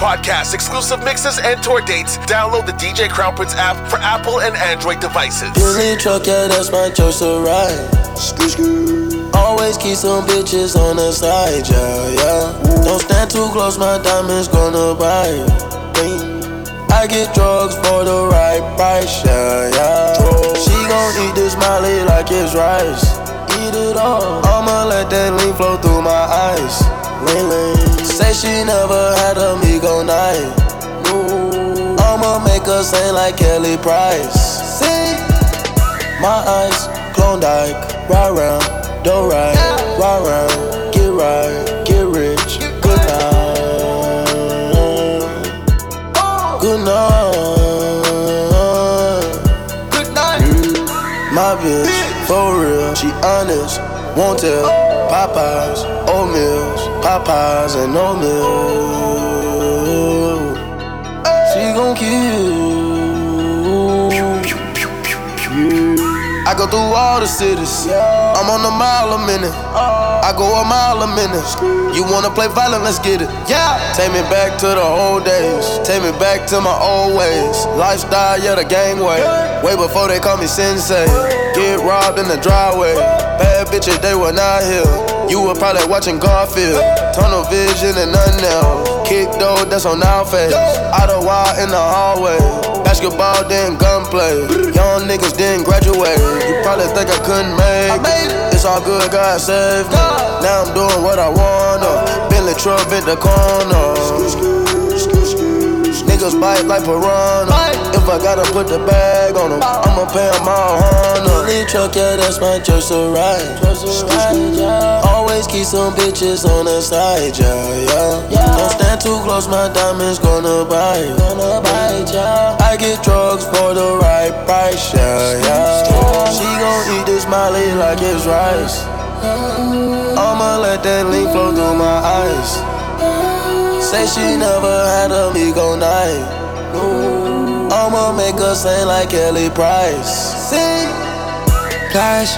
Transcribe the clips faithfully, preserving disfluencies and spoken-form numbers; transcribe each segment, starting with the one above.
podcasts, exclusive mixes, and tour dates, download the D J Crown Prince app for Apple and Android devices. Billy truck, yeah, that's my choice to ride. Always keep some bitches on the side, yeah, yeah. Don't stand too close, my diamonds gonna bite. I get drugs for the right price, yeah, yeah. She gon' eat this Molly like it's rice. Eat it all. I'ma let that lean flow through my eyes. Lean, lean. Say she never had a Migo night. I'ma make her sing like Kelly Price. Sing. My eyes, Klondike, ride round, do right, ride round, get right, get rich, good night, good night, good night. My bitch, for real, she honest, won't tell. Popeyes, oatmeals, Popeyes and oatmeal. She gon' kill. I go through all the cities. I'm on a mile a minute. I go a mile a minute. You wanna play violent? Let's get it. Yeah. Take me back to the old days. Take me back to my old ways. Lifestyle, yeah, the gang way. Way before they call me sensei. Get robbed in the driveway. Bad bitches, they were not here. You were probably watching Garfield. Tunnel vision and nothing else. Kick though, that's on our face. Out of wild in the hallway. Basketball, then gunplay. Young niggas didn't graduate. You probably think I couldn't make it. It's all good, God saved me. Now I'm doing what I wanna. Bentley truck in the corner. Niggas bite like piranha. If I gotta put the bag on them, I'ma pay them all honor. Billy truck, yeah, that's my choice to ride. Always keep some bitches on the side, yeah, yeah. Don't stand too close, my diamonds gonna bite. I get drugs for the right price, yeah, yeah. She gon' eat this Molly like it's rice. I'ma let that lean flow through my eyes. Say she never had a Migo night. I'ma make her sing like Kelly Price. Sing. Flash,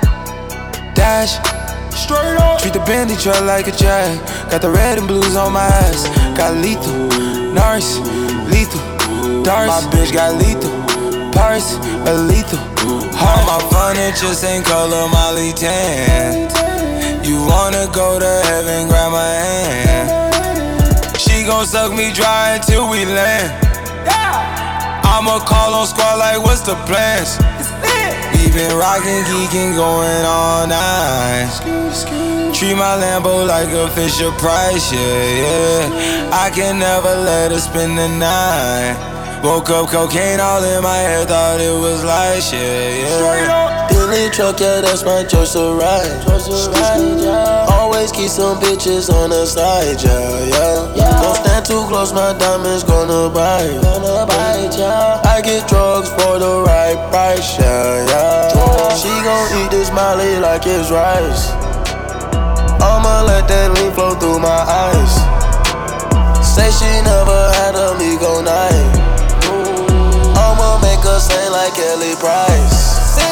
dash, straight up. Treat the Bentley truck like a jag. Got the red and blues on my ass. Got lethal, Norris, lethal, darts. My bitch got lethal, Paris, a lethal. All my furniture same color, Molly tan. You wanna go to heaven, grab my hand. She gon' suck me dry until we land. I'ma call on squad like what's the plans? We been rockin', geekin', going all night. Treat my Lambo like a Fisher Price, yeah, yeah. I can never let her spend the night. Woke up cocaine all in my head, thought it was light, yeah, yeah. Billy truck, yeah, that's my choice to ride. Always keep some bitches on the side, yeah, yeah. Don't stand too close, my diamonds gonna bite. I get drugs for the right price, yeah, yeah. She gon' eat this Molly like it's rice. I'ma let that lean flow through my eyes. Say she never had a Migo night. I'ma make her sing like Kelly Price.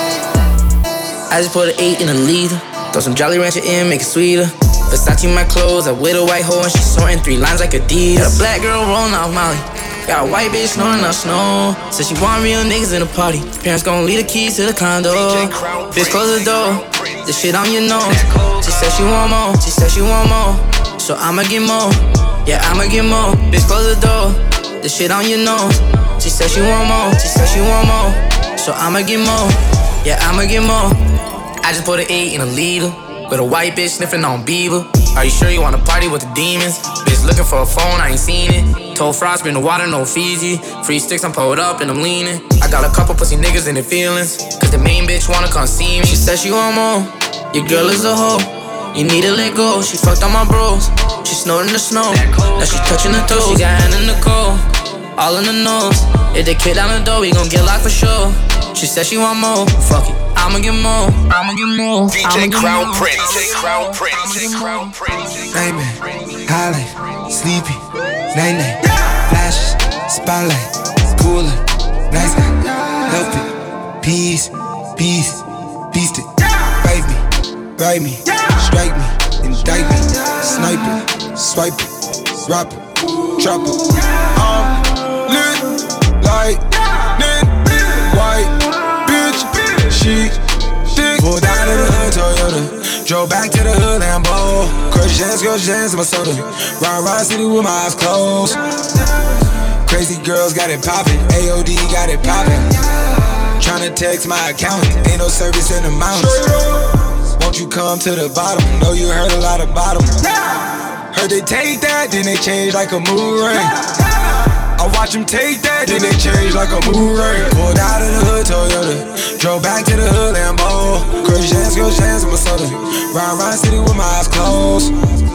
I just put an eight in a liter. Throw some Jolly Rancher in, make it sweeter. Versace my clothes, I with a white hoe and she sorting three lines like Adidas. Got a black girl rolling off Molly. Got a white bitch snoring out snow. Said she want real niggas in the party. Parents gon' leave the keys to the condo. Bitch, close the door. This shit on your nose. She said she want more. She said she want more. So I'ma get more. Yeah, I'ma get more. Bitch, close the door. This shit on your nose. She said she want more. She said she want more. So I'ma get more. Yeah, I'ma get more. I just put an eight in a liter. With a white bitch sniffing on Bieber. Are you sure you wanna party with the demons? Bitch looking for a phone, I ain't seen it. Told Frost, bring the water, no Fiji. Free sticks, I'm pulled up and I'm leaning. I got a couple pussy niggas in their feelings. Cause the main bitch wanna come see me. She said she want more. Your girl is a hoe. You need to let go. She fucked on my bros. She snowed in the snow. Now she touching the toes. She got hand in the cold. All in the nose. If they kick down the door, we gon' get locked for sure. She said she want more. Fuck it. I'ma get more, I'ma get more. D J Crown Prince, D J Crown Prince, D J Crown Prince. Baby, Holly, sleepy, night night, flashes, spotlight, cooler, nice guy, help it, peace, peace, beast it. Bite me, ride me, strike me, indict me, snipe it, swipe it, drop it. trapper. I'm lit like lit, white bitch, she thick. Pulled out of the hood Toyota, drove back to the hood Lambo. Crush jams, crush jams in my soda. Ride, ride city with my eyes closed. Crazy girls got it poppin', A O D got it poppin'. Tryna text my accountant, ain't no service in the mountains. Won't you come to the bottom? Know you heard a lot about them. Heard they take that, then they change like a mood ring. I watch them take that, then they change like a mood ring. Pulled out of the hood Toyota, drove back to the hood Lambo. Crush jams, crush jams in my soda. Ride, ride city with my eyes closed.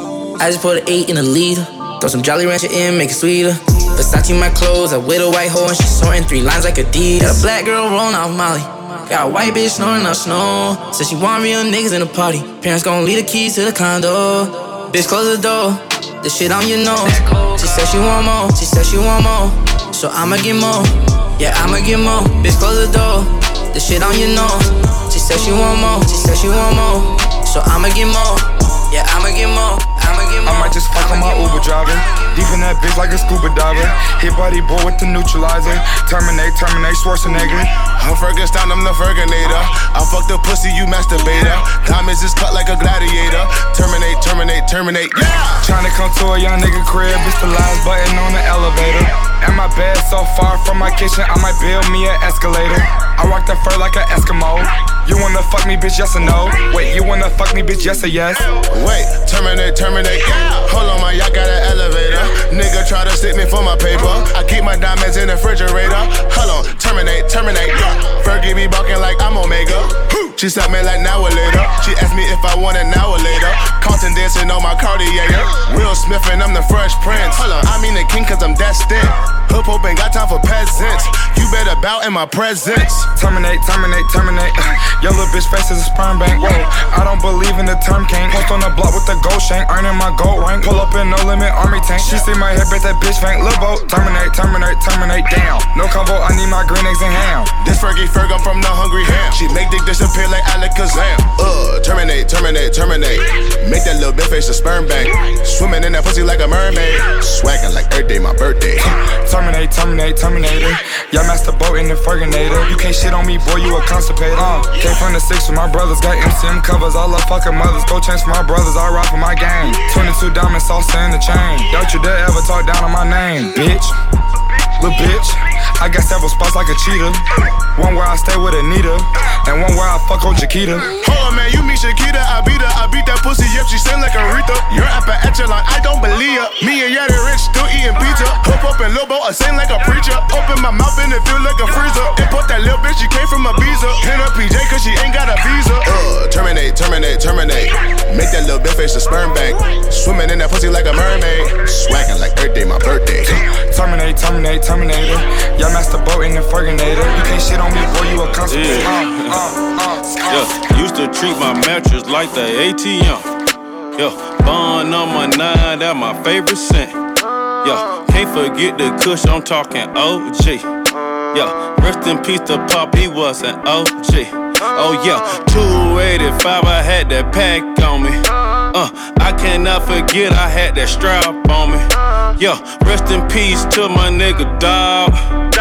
I just put an eight in a liter. Throw some Jolly Rancher in, make it sweeter. Versace my clothes, I with a white hoe and she sorting three lines like Adidas. Got a black girl rolling off Molly. Got a white bitch snoring up snow. Said she want real niggas in the party. Parents gon' leave the keys to the condo. Bitch, close the door. The shit on your nose. She said she want more. She said she want more. So I'ma get more. Yeah, I'ma get more. Bitch, close the door. The shit on your nose. She said she want more. She said she want more. So I'ma get more. Yeah, I'ma get more. I'ma get more. I might just fuck on my Uber driver. Deep in that bitch like a scuba diver. Hit body boy with the neutralizer. Terminate, terminate, Schwarzenegger. I'm Ferguson, I'm the Ferginator. I fuck the pussy, you masturbator. Diamonds is cut like a gladiator. Terminate, terminate, terminate, yeah! Tryna come to a young nigga crib, it's the last button on the elevator. And my bed so far from my kitchen, I might build me an escalator. I rock the fur like an Eskimo. You wanna fuck me, bitch, yes or no? Wait, you wanna fuck me, bitch, yes or yes? Wait, terminate, terminate, yeah! Hold on, my yacht got an elevator. Nigga try to stick me for my paper. I keep my diamonds in the refrigerator. Hold on, terminate, terminate, yeah! Fergie be balking like I'm Omega. She slapped me like now or later. She asked me if I want it now or later. Carlton dancing on my Cartier. Will Smith and I'm the Fresh Prince. Hold on, I mean the king cause I'm destined. Hoop hoop ain't got time for peasants. You better bow in my presence. Terminate, terminate, terminate. Your little bitch face is a sperm bank. Whoa, I don't believe in the term king. Post on the block with the gold shank, earning my gold rank. Pull up in no limit army tank. She see my hip, bet that bitch faint. Lil' boat, terminate, terminate, terminate. Down. No combo, I need my green eggs and ham. This Fergie Ferg, I'm from the Hungry Ham. She make dick disappear like Alakazam. Uh, terminate, terminate, terminate. Make that little bitch face a sperm bank. Swimming in that pussy like a mermaid. Swaggin' like Earth Day, my birthday. Terminate, terminate, terminator. Y'all master boat in the Ferginator. You can't shit on me, boy, you a constipator. Uh, came from the six with my brothers, got M C M covers. I love fucking mothers. Go change for my brothers, I rock for my gang. twenty-two diamonds, sauce in the chain. Don't you dare ever talk down on my name, bitch. Lil' bitch, I got several spots like a cheetah. One where I stay with Anita, and one where I fuck on Chiquita. Hold on, man, you meet Shakita, I beat her. I beat that pussy, yep, she sing like Aretha. You're up at echelon, I don't believe her. Me and Yadi Rich still eating pizza. Hook up in Lil' Bo, I sing like a preacher. Open my mouth and it feel like a freezer. Import that little bitch, she came from Ibiza. Pin her P J cause she ain't got a visa. Uh, terminate, terminate, terminate. Make that little bitch face a sperm bank. Swimming in that pussy like a mermaid. Swaggin' like Earth Day, my birthday. Terminate, terminate, terminator. Y'all master boat in the Ferginator. You can't shit on me, boy, you a constipator. Yeah. Uh, uh, uh, Yeah, used to treat my mattress like the A T M. Yeah, bond number nine, that my favorite scent. Yeah, can't forget the kush, I'm talking O G. Yeah, rest in peace to Pop, he was an O G. Oh yeah, two eighty-five, I had that pack on me. Uh, I cannot forget I had that strap on me. Yeah, rest in peace to my nigga dog.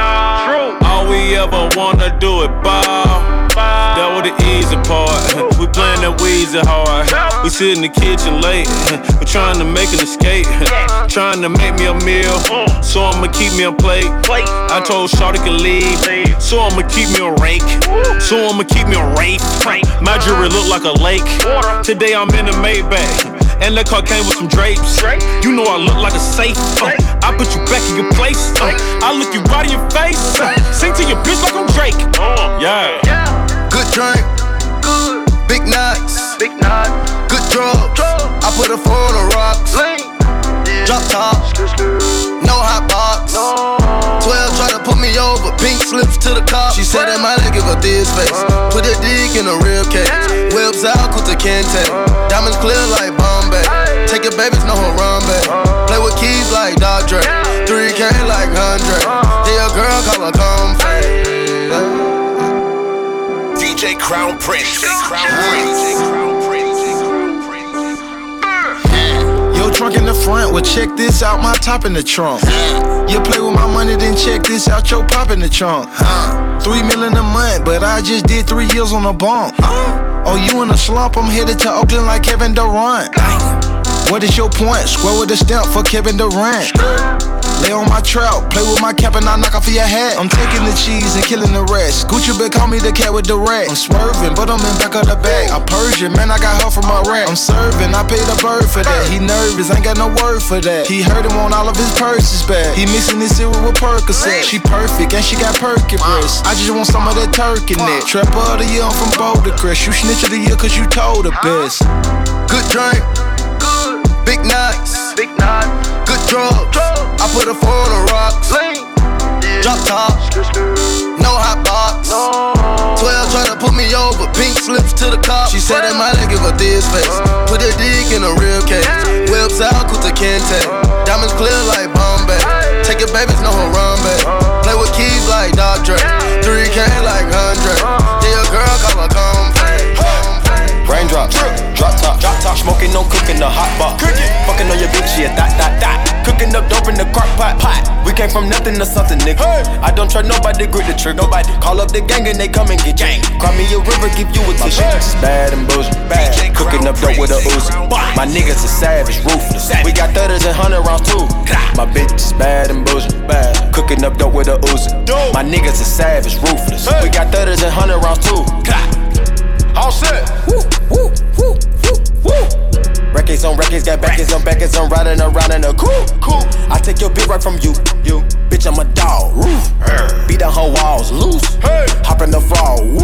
All we ever wanna do is ball. That was the easy part. We playin' that Weezy hard. We sit in the kitchen late. We trying to make an escape. Trying to make me a meal. So I'ma keep me a plate. I told Shawty could leave. So I'ma keep me a rake. So I'ma keep me a rape. My jewelry look like a lake. Today I'm in a Maybach. And that car came with some drapes. You know I look like a safe. Uh, I put you back in your place. Uh, I look you right in your face. Uh, sing to your bitch like I'm Drake. Yeah. Good drink, good. Big nuts, big nuts. Good drugs. I put a four on the rocks. Drop top, no hot box. Twelve try to put me over, pink slips to the cop. She said that might give her this face. Put a dick in a real case. Whips out, Kuta Kente. Diamonds clear like Bombay. Take your babies, no Harambe. Play with keys like Dr. Dre. three K like Andre. Yeah, girl, call her comfy. D J Crown Prince. Crown Prince. Yo, trunk in the front, well check this out, my top in the trunk. You play with my money, then check this out, your pop in the trunk. Three million a month, but I just did three years on a bump. Oh, you in a slump, I'm headed to Oakland like Kevin Durant. What is your point? Square with a stamp for Kevin Durant. Lay on my trout, play with my cap and I knock off your hat. I'm taking the cheese and killing the rest. Gucci been call me the cat with the rat. I'm swerving, but I'm in back of the bag. I Persian, man, I got her from Iraq. I'm serving, I paid a bird for that. He nervous, ain't got no word for that. He heard him on all of his purses back. He mixing this cereal with Percocet. She perfect and she got perky breasts. I just want some of that turkey neck. Trapper of the year, I'm from Boulder Crest. You snitch of the year cause you told the best. Good drink, big nuts, big nuts, good drugs. I put a four on the rocks. Drop top, no hot box. Twelve try to put me over, pink slips to the cop. She said that might give her this face. Put a dick in a real case. Whips out, Kuta Kente. Diamonds clear like Bombay. Take your babies, know her run back. Play with keys like Doctor. three K like Andre. Yeah, your girl call her comfort. Raindrops, drop top, drop top, smoking, no cooking, the hot box. Fucking on your bitch, yeah, that, that, that. Cooking up dope in the crock pot, pot. We came from nothing to something, nigga. Hey. I don't try nobody, grip the trigger. Nobody call up the gang and they come and get gang. Cry me a river, give you a tissue. My bitch is bad and bullshit, bad. Cooking up dope with a Uzi. My niggas are savage, ruthless. We got thudders and hundred rounds too. My bitch is bad and bullshit, bad. Cooking up dope with a Uzi. My niggas are savage, ruthless. We got thudders and hundred rounds too. All set. Woo, woo, woo, woo, woo. Records on records, got backers on backers. I'm riding around in a cool, cool. I take your bitch right from you, you. Bitch, I'm a dog. Roof. Beat down her walls, loose. Hey. Hop in the fall, woo.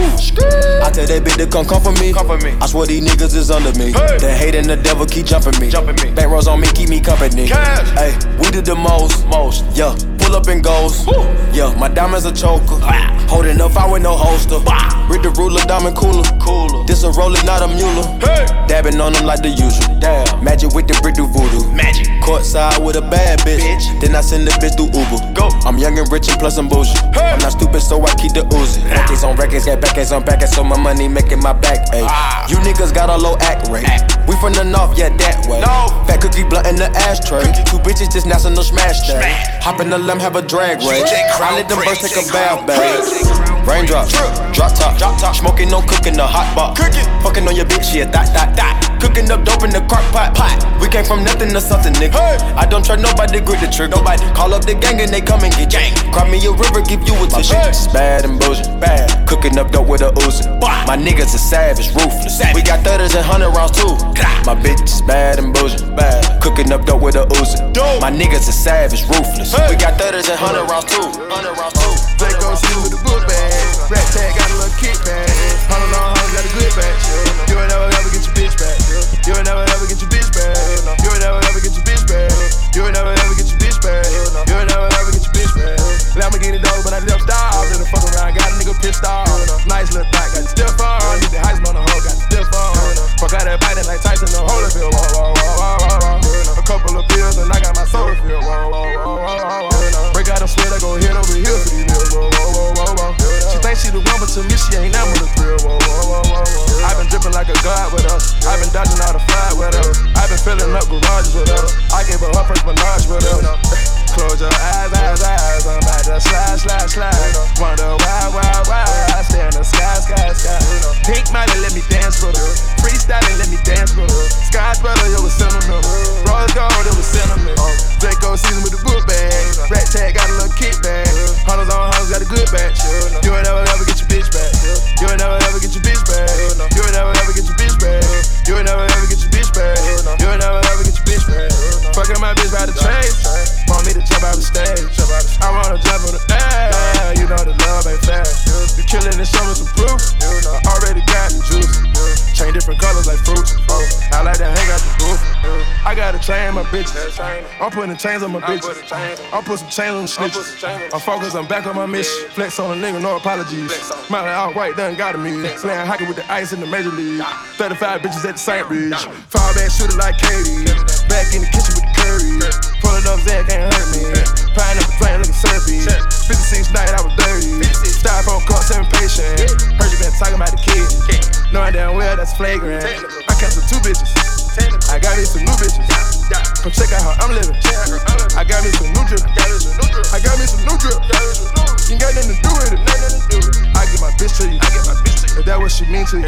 I tell that bitch to come come for me. Come for me. I swear these niggas is under me. Hey. The hate and the devil keep jumping me. Jumping me. Back rows on me, keep me company. Hey, we did the most, most. Yeah, pull up and goes. Woo. Yeah, my diamonds a choker. Ah. Holding up, I with no holster. Bah. Read the ruler, diamond cooler. Cooler. This a roller, not a mule. Hey. Dabbing on them like the usual. Damn. Magic with the brick do voodoo. Magic. Courtside with a bad bitch. bitch. Then I send the bitch through Uber. Go. I'm young and rich and plus I'm bougie. Hey. I'm not stupid, so I keep the Uzi. Records on records, got backers on backers, so my money making my back. Ayy. Ah. You niggas got a low act rate. Act. We from the north, yeah, that way. No. Fat cookie blunt in the ashtray. Cookie. Two bitches just national smash day. Hop in the limb, have a drag race. I let them birds take a bath bag. Raindrops, drop top, drop top, smoking, no cooking, the hot box. Cooking, fucking on your bitch, yeah, that, that, that. Cooking up dope in the crock pot, pot. We came from nothing to something, nigga. Hey. I don't try nobody, grip the trigger. Nobody call up the gang and they come and get gang. Cry me a river, give you a tissue. My bitch is bad and bullshit, bad. Cooking up dope with a Uzi. My niggas are savage, ruthless. Savage. We got thudders and hundred rounds too. My bitch is bad and bullshit, bad. Cooking up dope with a Uzi. My niggas are savage, ruthless. Hey. We got thudders and hundred rounds too. Hundred rounds too. They gon' see with the book bag. Rat tag got a little kickback. Hundred long hoes got a good back. You ain't never ever get your bitch back. You ain't never ever get your bitch back. You ain't never ever get your bitch back. You ain't never ever get your bitch back. You ain't never ever get your bitch back. Lamborghini dog, but I left style. Let her fuck around, got a nigga pissed off. Nice little thing, got the stiff on. Need the Heisman on the hoe, got the stiff on. Fuck out that biting like Tyson on Holyfield. Whoa, whoa, whoa, whoa, whoa. A couple of pills and I got my soda filled. Whoa, whoa, whoa, whoa, whoa. Break out them sweat, I go hit over here for these bills. Whoa, whoa, whoa, whoa, whow. She think she the one, but to me she ain't never the thrill. Whoa, whoa, whoa, whoa. I've been dripping like a god with her. I've been dodging all the fire with her. I've been filling up garages with her. I gave her her first menage with her. Close your eyes, eyes, eyes. I'm about to slide, slide, slide. Wonder why, why, why. I stay in the sky, sky, sky. Pink money, let me dance with her. Freestyling, let me dance with her. Sky's brother, it was sentimental. Rose gold, it was sentimental. Draco season with the book bag. Rat tag got a little kickback. Hunters on hunters got a good batch. You ain't never ever get your bitch back. You ain't never ever get your bitch back. You ain't never ever get your bitch back. You ain't never ever get your bitch back. You ain't never ever get your bitch back. Fucking my bitch by the train. Want me to jump out the stage. I wanna jump on the air. You know the love ain't fair. You killing and show me some proof. I already got the juice. Chain different colors like fruits. I like to hang out the booth. I gotta train my bitches. I'm putting chains on my bitches. I'm putting some chains on the snitches. I'm focused, I'm back on my mission. Flex on a nigga, no apologies. Miley outright done got me. Playing hockey with the ice in the major league. thirty-five bitches at the Saint Bridge. Fall back shooter like Katie. Back in the kitchen with the curry. Pulling up Zach can't hurt me. Pine up the plane looking surfy. fifty-six night I was dirty. Styrofoam cup, seven patient. Heard you been talking about the kid. Knowing damn well that's flagrant. I canceled two bitches. I got me some new bitches. Come check out how I'm living. I got me some new drip. I got me some new drip. You ain't got nothing to do with it. I get my bitch to you. If that what she mean to you.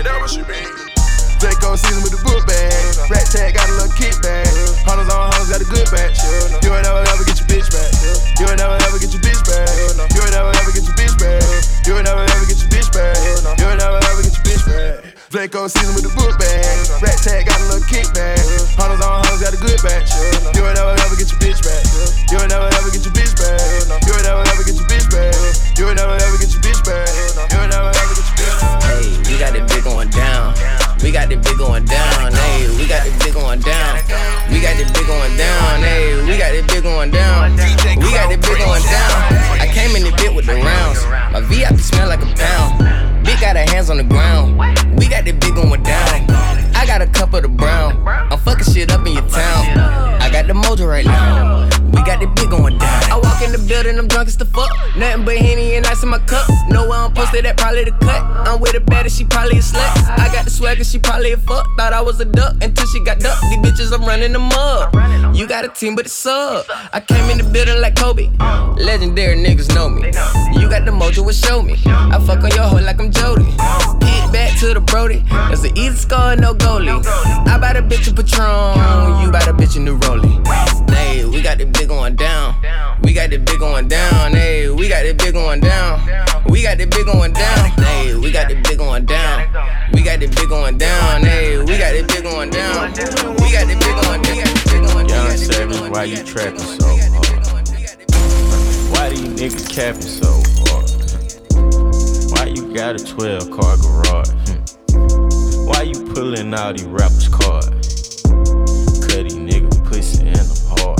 Draco season with the book bag. Rat tag got a little kickback. Hunters on hunters got a good batch. You ain't never ever get your bitch back. You ain't never ever get your bitch back. You ain't never ever get your bitch back. You ain't never ever get your bitch back. You ain't never ever get your bitch back. Draco season with the book bag. Rat tag got a little kickback. Hunters on hunters got a good batch. You ain't never ever get your bitch back. You ain't never ever get your bitch back. You ain't never ever get your bitch back. You ain't never ever get your bitch back. You ain't never ever get your bitch back. Hey, we got it big going down. We got the big going down, hey. We got the big going down. We got the big going down, hey. We got the big going down. We got the big going down. I came in the bit with the rounds. My V I P smell like a pound. Big got her hands on the ground. We got the big going down. I got a cup of the brown. I'm fucking shit up in your town. I got the mojo right now. We got the big going down. I walk in the building, I'm drunk as the fuck. Nothing but Henny and ice in my cup. Know where I'm posted, that probably the cut. I'm with a baddie, she probably a slut. I got the swagger, she probably a fuck. Thought I was a duck until she got ducked. These bitches, I'm running them up. You got a team, but it's up. I came in the building like Kobe. Legendary niggas know me. You got the mojo, what show me. I fuck on your hoe like I'm Jody. Hit back to the Brody. That's an easy score, no goalie. I buy the bitch a Patron. You buy the bitch a new rollie. Hey, we got the big going down. We got the big going down. Hey, we got the big going down. We got the big going down. Hey, we got the big going down. We got the big going down. Hey, we got the big going down. We got the big going down. Young Savage, why you trapping so hard? Why these niggas capping so hard? Why you got a twelve car garage? Hmm. Why you pulling all these rappers' cards? Cutty nigga pussy and I'm hard.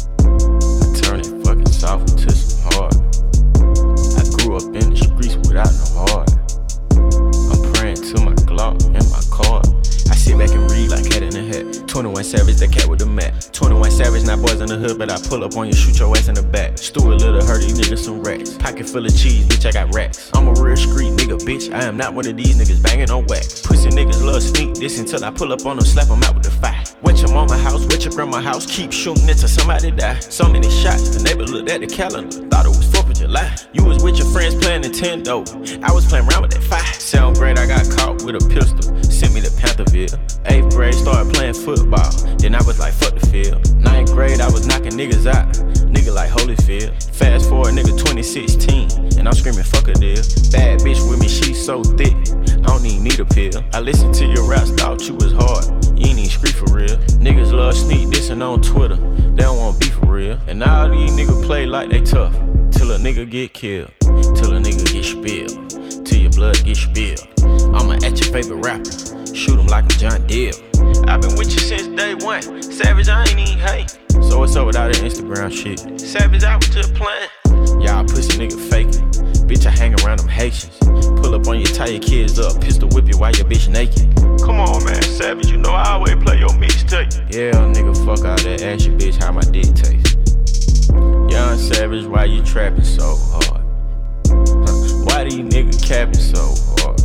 I turn it fucking soft into some hard. I grew up in the streets without no heart. I'm praying to my Glock and my card. I sit back and read like Cat in the Hat. twenty-one Savage, the cat with the mat. twenty-one Savage, not boys in the hood, but I pull up on you, shoot your ass in the back. Stuart Little, hurt these niggas some racks. Pocket full of cheese, bitch, I got racks. I'm a real street nigga, bitch. I am not one of these niggas banging on wax. Pussy niggas love sneak this until I pull up on them, slap them out with the fire. Went your mama house, went your grandma house, keep shooting until somebody die. So many shots, the neighbor looked at the calendar, thought it was fourth of July. You was with your friends playing Nintendo, I was playing around with that fire. Seventh grade, I got caught with a pistol, sent me to Pantherville. Eighth grade, started playing football, then I was like, fuck the field. Ninth grade, I was knocking niggas out, nigga like Holyfield. Fast forward, nigga twenty sixteen, and I'm screaming, fuck a deal. Bad bitch with me, she so thick, I don't even need a pill. I listened to your raps, thought you was hard, you ain't even scream for real. Niggas love sneak dissing on Twitter, they don't want beef for real. And all these niggas play like they tough, till a nigga get killed, till a nigga get spilled, till your blood get spilled. I'ma at your favorite rapper, shoot him like I'm John Deere. I've been with you since day one, Savage, I ain't even hate. So what's up with all that Instagram shit? Savage, I was just playing. Y'all pussy nigga faking. Bitch, I hang around them Haitians. Pull up on you, tie your kids up, pistol whip you while your bitch naked. Come on, man, Savage, you know I always play your mixtape. Yeah, nigga, fuck all that, ask your bitch how my dick taste. Young Savage, why you trapping so hard? Why these niggas capping so hard?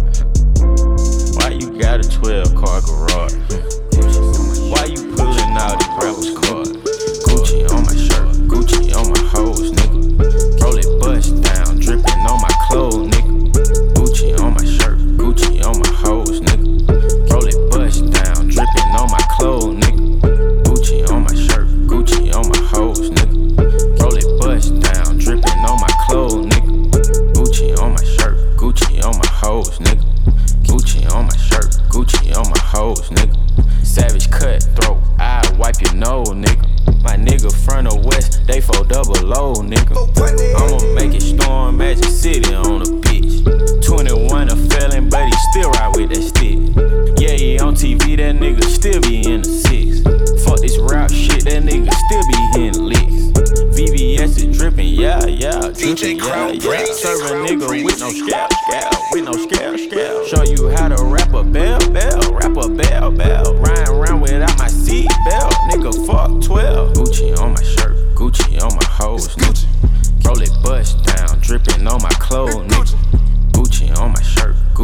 Why you got a twelve car garage? Why you pulling out the rappers' cards? Gucci on my shirt, Gucci on my hoes, nigga. Roll it bust down, dripping on my clothes, nigga. Gucci on my shirt, Gucci on my hoes, nigga. Roll it bust down, dripping on my clothes, nigga. Gucci on my shirt, Gucci on my hoes, nigga. Roll it bust down, dripping on my clothes, nigga. Gucci on my shirt, Gucci on my hoes, nigga. Gucci on my shirt, Gucci on my hoes, nigga. Savage cutthroat, I wipe your nose, nigga. My nigga front or west, they four double low, nigga. I'ma make it storm Magic City on a bitch. twenty-one a felon, but he still ride with that stick. Yeah, he on T V, that nigga still be in the six. Fuck this rap shit, that nigga still be hitting licks. V V S is dripping, yeah, yeah, dripping, yeah, yeah. Serve a nigga with no scalp, scalp, with no scalp, scalp. Show you how to rap a bell, bell, rap a bell, bell. Riding around without my seat belt, nigga, fuck twelve. Gucci on my shirt, Gucci on my hoes, nigga. Roll it bust down, dripping on my clothes, nigga. Gucci on my shirt, Gucci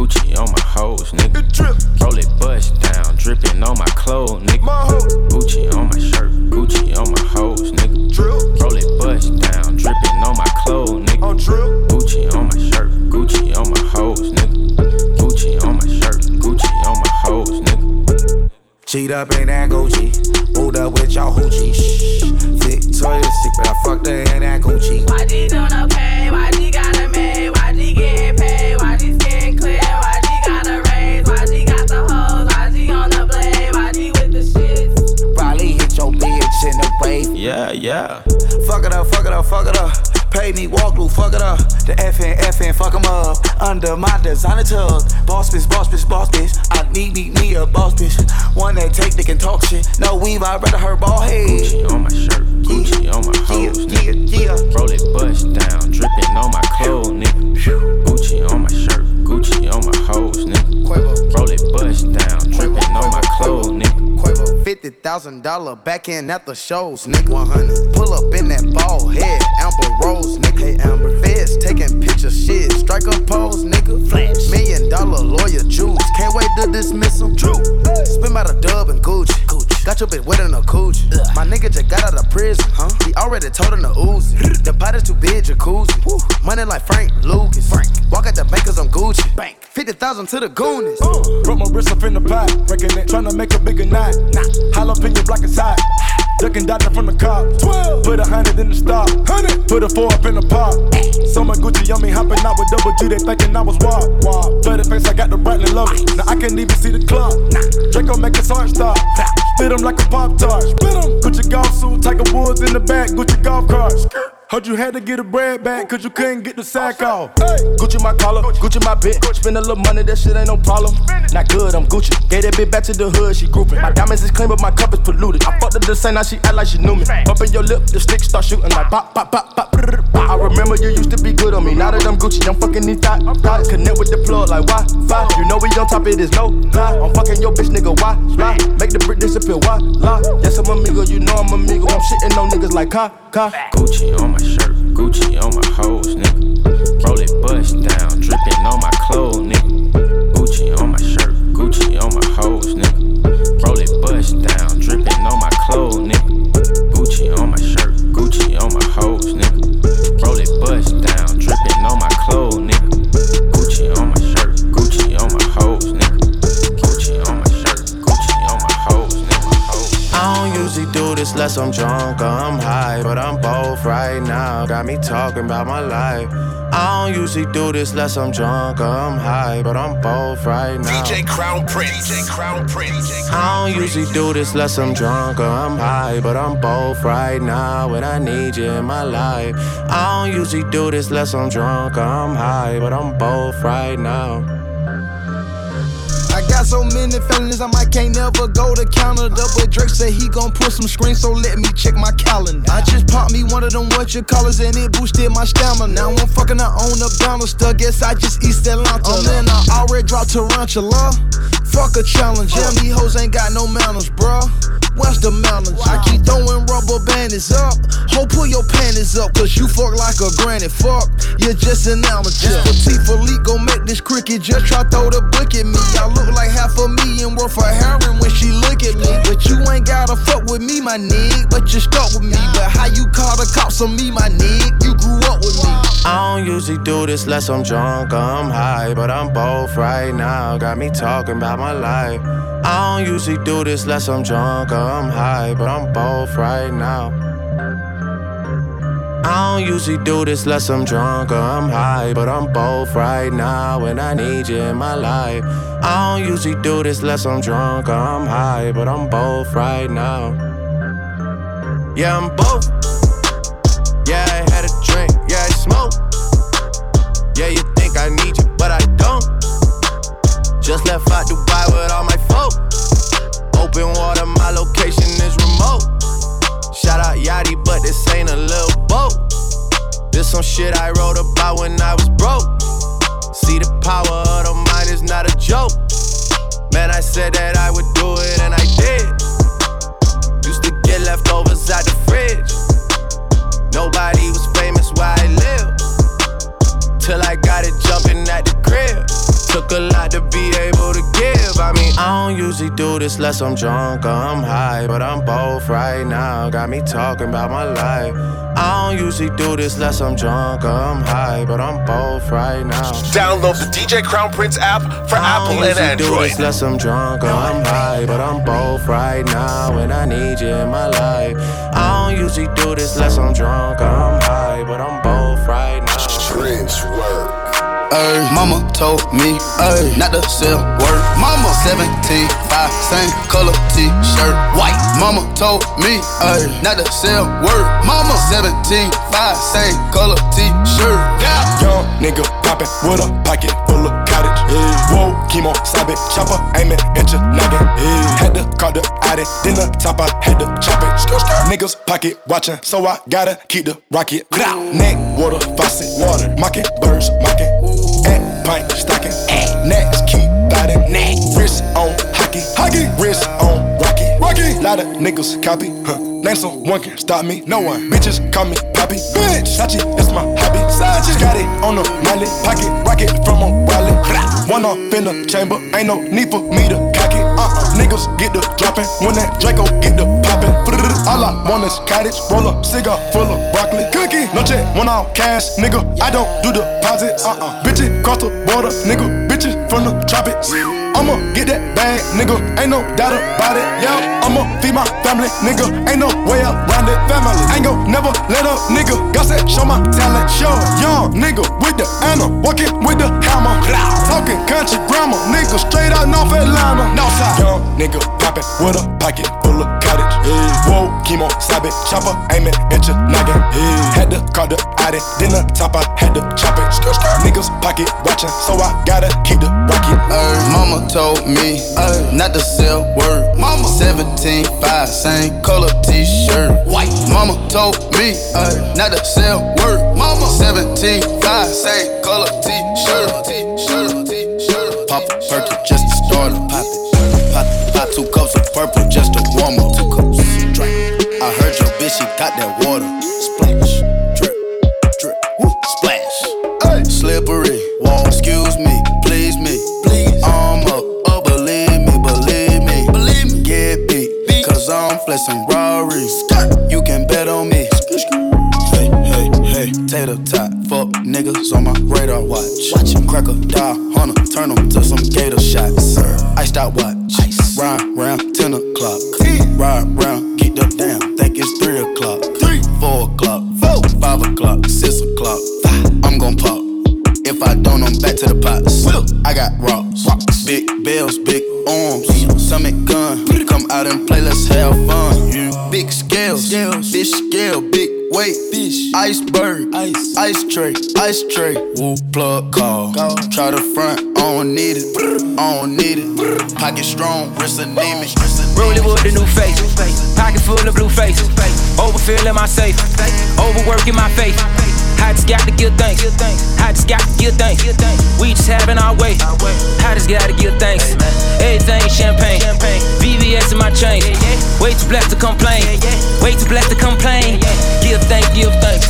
Gucci on my hoes, nigga. Roll it, bust down, dripping on my clothes, nigga. Gucci on my shirt, Gucci on my hoes, nigga. Roll it, bust down, dripping on my clothes, nigga. Gucci on my shirt, Gucci on my hoes, nigga. Gucci on my shirt, Gucci on my hoes, nigga. Cheat up in that Gucci, moved up with y'all hoochie. Shh, Victoria's Secret, I fucked her in that Gucci. Why G doing okay? Why G got a maid? Why G getting paid? Why G skin clear? Why G got a raise? Why G got the hoes? Why G on the blade? Why G with the shits? Probably hit your bitch in the wave. Yeah, yeah. Fuck it up, fuck it up, fuck it up. Pay me, walk through, fuck it up. The F N, F N, fuck 'em up. Under my designer tug. Boss bitch, boss bitch, boss bitch. I need me, me a boss bitch. One that take dick and talk shit. No weave, I'd rather her ball head. Gucci on my shirt, Gucci yeah. on my hoes, yeah, nigga. Yeah, yeah. Roll it, bust down, dripping on my clothes, nigga. Gucci on my shirt, Gucci on my hoes, nigga. Roll it, bust down, dripping on my clothes, nigga. fifty thousand dollars back in at the shows, nigga. one hundred. Pull up in that ball head, Amber Rose, nigga. Hey, Amber. Feds taking pictures, shit. Strike a pose, nigga. Flash. Million dollar lawyer juice. Can't wait to dismiss him. True. Spin by the dub and Gucci. Gucci. Got your bitch wet in a coochie. Ugh. My nigga just got out of prison, huh? He already told him to ooze it. The pot is too big, jacuzzi. Woo. Money like Frank Lucas. Frank. Walk at the bankers on Gucci. Bank. fifty thousand to the Goonies. Uh. Put my wrist up in the pot. Breaking it, tryna make a bigger knot. Nah. Jalapeno block is hot. Ducking dodging from the car. twelve. Put a hundred in the stock. Hundred. Put a four up in the pot. So much Gucci on me, hopping out with double G. They thinking I was wild. Wow. Dirty face, I got the Bradley love it. Now I can't even see the clock. Nah. Draco make his heart stop. Spit him like a Pop Tart. Spit him. Gucci golf suit, Tiger Woods in the back. Gucci golf carts. Heard you had to get a bread back, cause you couldn't get the sack off. Hey. Gucci my collar, Gucci my bit. Spend a little money, that shit ain't no problem. Not good, I'm Gucci. Gave that bitch back to the hood, she grouping. My diamonds is clean, but my cup is polluted. I fucked her the same, now she act like she knew me. Bumpin' your lip, the stick start shooting like pop, pop, pop, pop. I remember you used to be good on me. Now that I'm Gucci, I'm fucking these thoughts. Thought. Connect with the plug like Wi-Fi. You know we on top, it is no lie. I'm fucking your bitch, nigga, why lie? Make the brick disappear, why lie? Yes, I'm amigo, you know I'm amigo. I'm shitting on niggas like Ka, Ka. Gucci on my shirt, Gucci on my hoes, nigga. Roll it, bust down, dripping on my clothes, nigga. Gucci on my shirt, Gucci on my hoes, nigga. Roll it, bust down, dripping on my clothes, nigga. Gucci on my shirt, Gucci on my hoes, nigga. Roll it, bust down, dripping on my clothes, nigga. Gucci on my shirt, Gucci on my hoes, nigga. Gucci on my shirt, Gucci on my hoes, nigga. I don't usually do this unless I'm drunk or I'm high, but I'm both right now. Got me talking about my life. I don't usually do this unless I'm drunk or I'm high, but I'm both right now. D J Crown Prince, D J Crown Prince. I don't usually do this unless I'm drunk or I'm high, but I'm both right now, and I need you in my life. I don't usually do this unless I'm drunk or I'm high, but I'm both right now. I got so many felonies, I might can't never go to Canada. But Drake said he gon' put some screens, so let me check my calendar. I just popped me one of them what you callers, and it boosted my stamina. Now I'm fucking her on the banister, guess I just East Atlanta. Oh man, I already dropped Tarantula. Fuck a challenge, yeah, these hoes ain't got no manners, bruh. What's the mountains? I keep throwing rubber bandits up. Ho, pull your panties up, cause you fuck like a granny. Fuck, you're just an amateur. This petite Philippe gon' make this cricket just try throw the book at me. I look like half a million worth of heroin when she look at me. But you ain't gotta fuck with me, my nigga. But you stuck with me. But how you call the cops on me, my nigga? You grew up with me. I don't usually do this unless I'm drunk or I'm high, but I'm both right now. Got me talking about my life. I don't usually do this unless I'm drunk or I'm high, but I'm both right now. I don't usually do this unless I'm drunk or I'm high, but I'm both right now, and I need you in my life. I don't usually do this unless I'm drunk or I'm high, but I'm both right now. Yeah, I'm both. Yeah, I had a drink, yeah, I smoke. Yeah, you think I need you, but I don't. Just left out Dubai with all my folk. Open water, my location is remote. Shout out Yachty, but this ain't a little boat. This some shit I wrote about when I was broke. See, the power of the mind is not a joke. Man, I said that I would do it and I did. Used to get leftovers out the fridge. Nobody was famous where I live, till I got it jumping at the crib. Took took a lot to be able to give. I mean, I don't usually do this unless I'm drunk or I'm high, but I'm both right now. Got me talking about my life. I don't usually do this unless I'm drunk or I'm high, but I'm both right now. Download the D J Crown Prince app for Apple and Android. Do this unless I'm drunk or I'm high, but I'm both right now, and I need you in my life. I don't usually do this unless I'm drunk or I'm high, but I'm both right now. Prince work. Ay, mama told me, ay, not to sell word. Mama seventeen, five, same color t-shirt, white. Mama told me, ay, not to sell word. Mama seventeen, five, same color t-shirt. Yeah. Young nigga poppin' with a pocket full of cottage. Yeah. Whoa, chemo, stop it, chopper, aimin' at your noggin. Yeah. Had to call the addy, then the top I had to chop it. Skr, skr. Niggas pocket watchin', so I gotta keep the rocket. Neck, water, faucet, water, mocking, birds, mocking. At pint, stocking, next keep biting, neck, wrist on hockey, hockey, wrist on rocky, rocky. Lot of niggas copy, huh? Name someone can stop me, no one. Bitches call me Poppy, bitch. Sachi, that's my hobby. Sachi, got it on the Miley, pocket rocket from a wallet. One off in the chamber, ain't no need for me to cock it. Uh-uh, niggas get the dropping when that Draco get the popping. All I want is cottage, roll up, cigar full of broccoli, cookie. No check, one off cash, nigga. I don't do deposits. Uh-uh, bitches cross the border, nigga. Bitches from the tropics. I'ma get that bag, nigga. Ain't no doubt about it. Yeah, I'ma feed my family, nigga. Ain't no way around it. Family, ain't gon' never let up, nigga. Got that, show my talent. Show young nigga with the Anna, walking with the hammer. Talking country grammar, nigga straight out North Atlanta. Northside, young nigga poppin' with a pocket full of cottage. Yeah. Whoa, chemo, stop it, chopper, aimin' at your noggin. Yeah. Had to call the addy, then the top I had to chop it. Skr, skr. Niggas pocket watchin', so I gotta keep the rocket. Ay, mama told me, ay, not to sell word. Mama seventeen, five, same color t-shirt, white. Mama told me, ay, not to sell word. Mama seventeen, five, same color t-shirt, t-shirt, t-shirt. Pop a perky just to start it. Pop it, pop, pop two cups of purple just to warm up. Two cups, drink. I heard your bitch, she got that water. Splash, drip, drip, woo, splash. Ay. Slippery, wall, excuse me, please me, please. I'm up, oh believe me, believe me, believe me. Get beat, beat. Cause I'm flexing Rari. You can bet on me. Hey, hey, hey, tater tot, fuck niggas on my radar watch. Watch him crack a die, hunter, turn them to some gator shots. Iced out watch, ice. Ride round ten o'clock. Ride round, get up down, think it's three o'clock. Three, four o'clock, four, five o'clock, six o'clock. I'm gon' pop. If I don't, I'm back to the pots. I got rocks, rocks. Big bells, big arms, stomach gun. Come out and play, let's have fun. Yeah. Big scales, fish scale, big weight, fish, iceberg, ice, ice tray, ice tray. Woo, plug call. Try the front, I don't need it, I don't need it. Pocket strong, wrist anemic. Rolling with the new face, pocket full of blue faces. Overfill in my safe, overworking my faith. I just got to give thanks. I just got to give thanks. We just having our way. I just got to give thanks. Everything champagne. V V S in my chain. Way too blessed to complain. Way too blessed to complain. Give thanks, give thanks.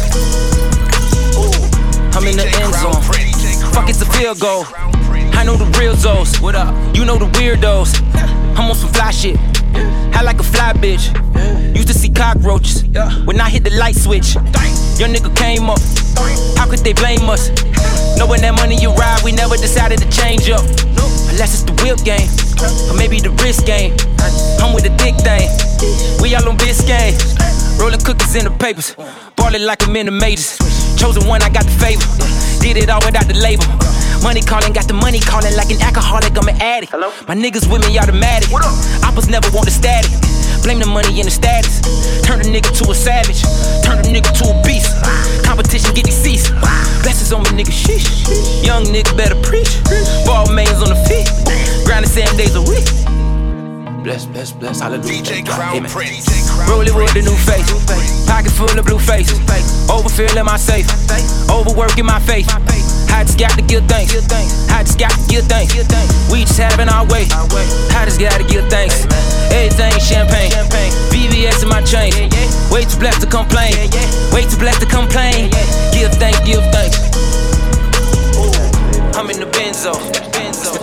I'm in the end zone. Fuck, it's a field goal. I know the real zones. What up? You know the weirdos. I'm on some fly shit. I like a fly bitch. Used to see cockroaches when I hit the light switch. Your nigga came up. How could they blame us? Knowing that money you ride, we never decided to change up. Unless it's the whip game, or maybe the wrist game. I'm with the thick thing. We all on Biscayne. Rolling cookies in the papers. Ballin' like I'm in the majors. Chosen one, I got the favor. Did it all without the label. Money calling, got the money calling like an alcoholic, I'm an addict. Hello? My niggas with me automatic. Oppas never want the static. Blame the money and the status. Turn a nigga to a savage. Turn a nigga to a beast. Competition get deceased. Blessings on me, nigga, sheesh. Young nigga better preach. Ball mains on the feet. Grinding seven days a week. Bless, bless, bless, hallelujah. D J Crown Prince. Rolling with the new face. Pocket full of blue faces. Overfill in my safe. Overworking my faith. I just got to give thanks. I just got to give thanks. We just having our way. I just got to give thanks. Everything champagne. V V S in my chain. Way too blessed to complain. Way too blessed to complain. Give thanks, give thanks. I'm in the Benzo.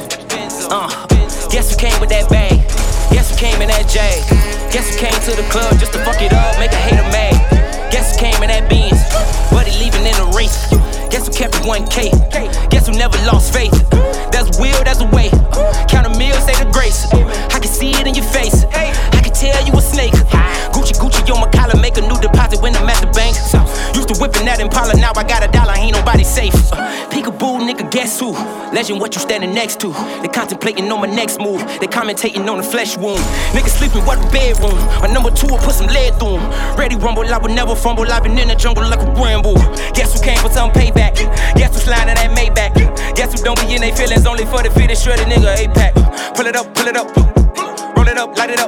Guess who came with that bag? Guess who came in that Jag? Guess who came to the club just to fuck it up, make a hater mad? Guess who came in that Benz, but he leaving in the race? Guess who kept it one K? Guess who never lost faith? That's a will, that's a way. Count a meal, say the grace. I can see it in your face. I can tell you a snake. Gucci, Gucci on my collar, make a new deposit when I'm at the bank. Used to whipping that Impala, now I got a dollar, ain't nobody safe. Peekaboo, nigga, guess who? Legend, what you standing next to? They contemplating on my next move. They commentating on the flesh wound. Niggas sleeping, what a bedroom. My number two will put some lead through 'em. Ready rumble, I would never fumble. I've been in the jungle like a bramble. Guess who came for some payback? Guess who's sliding that Maybach? Guess who don't be in they feelings only for the fit and shredded nigga A-Pack. Pull it up, pull it up, roll it up, light it up.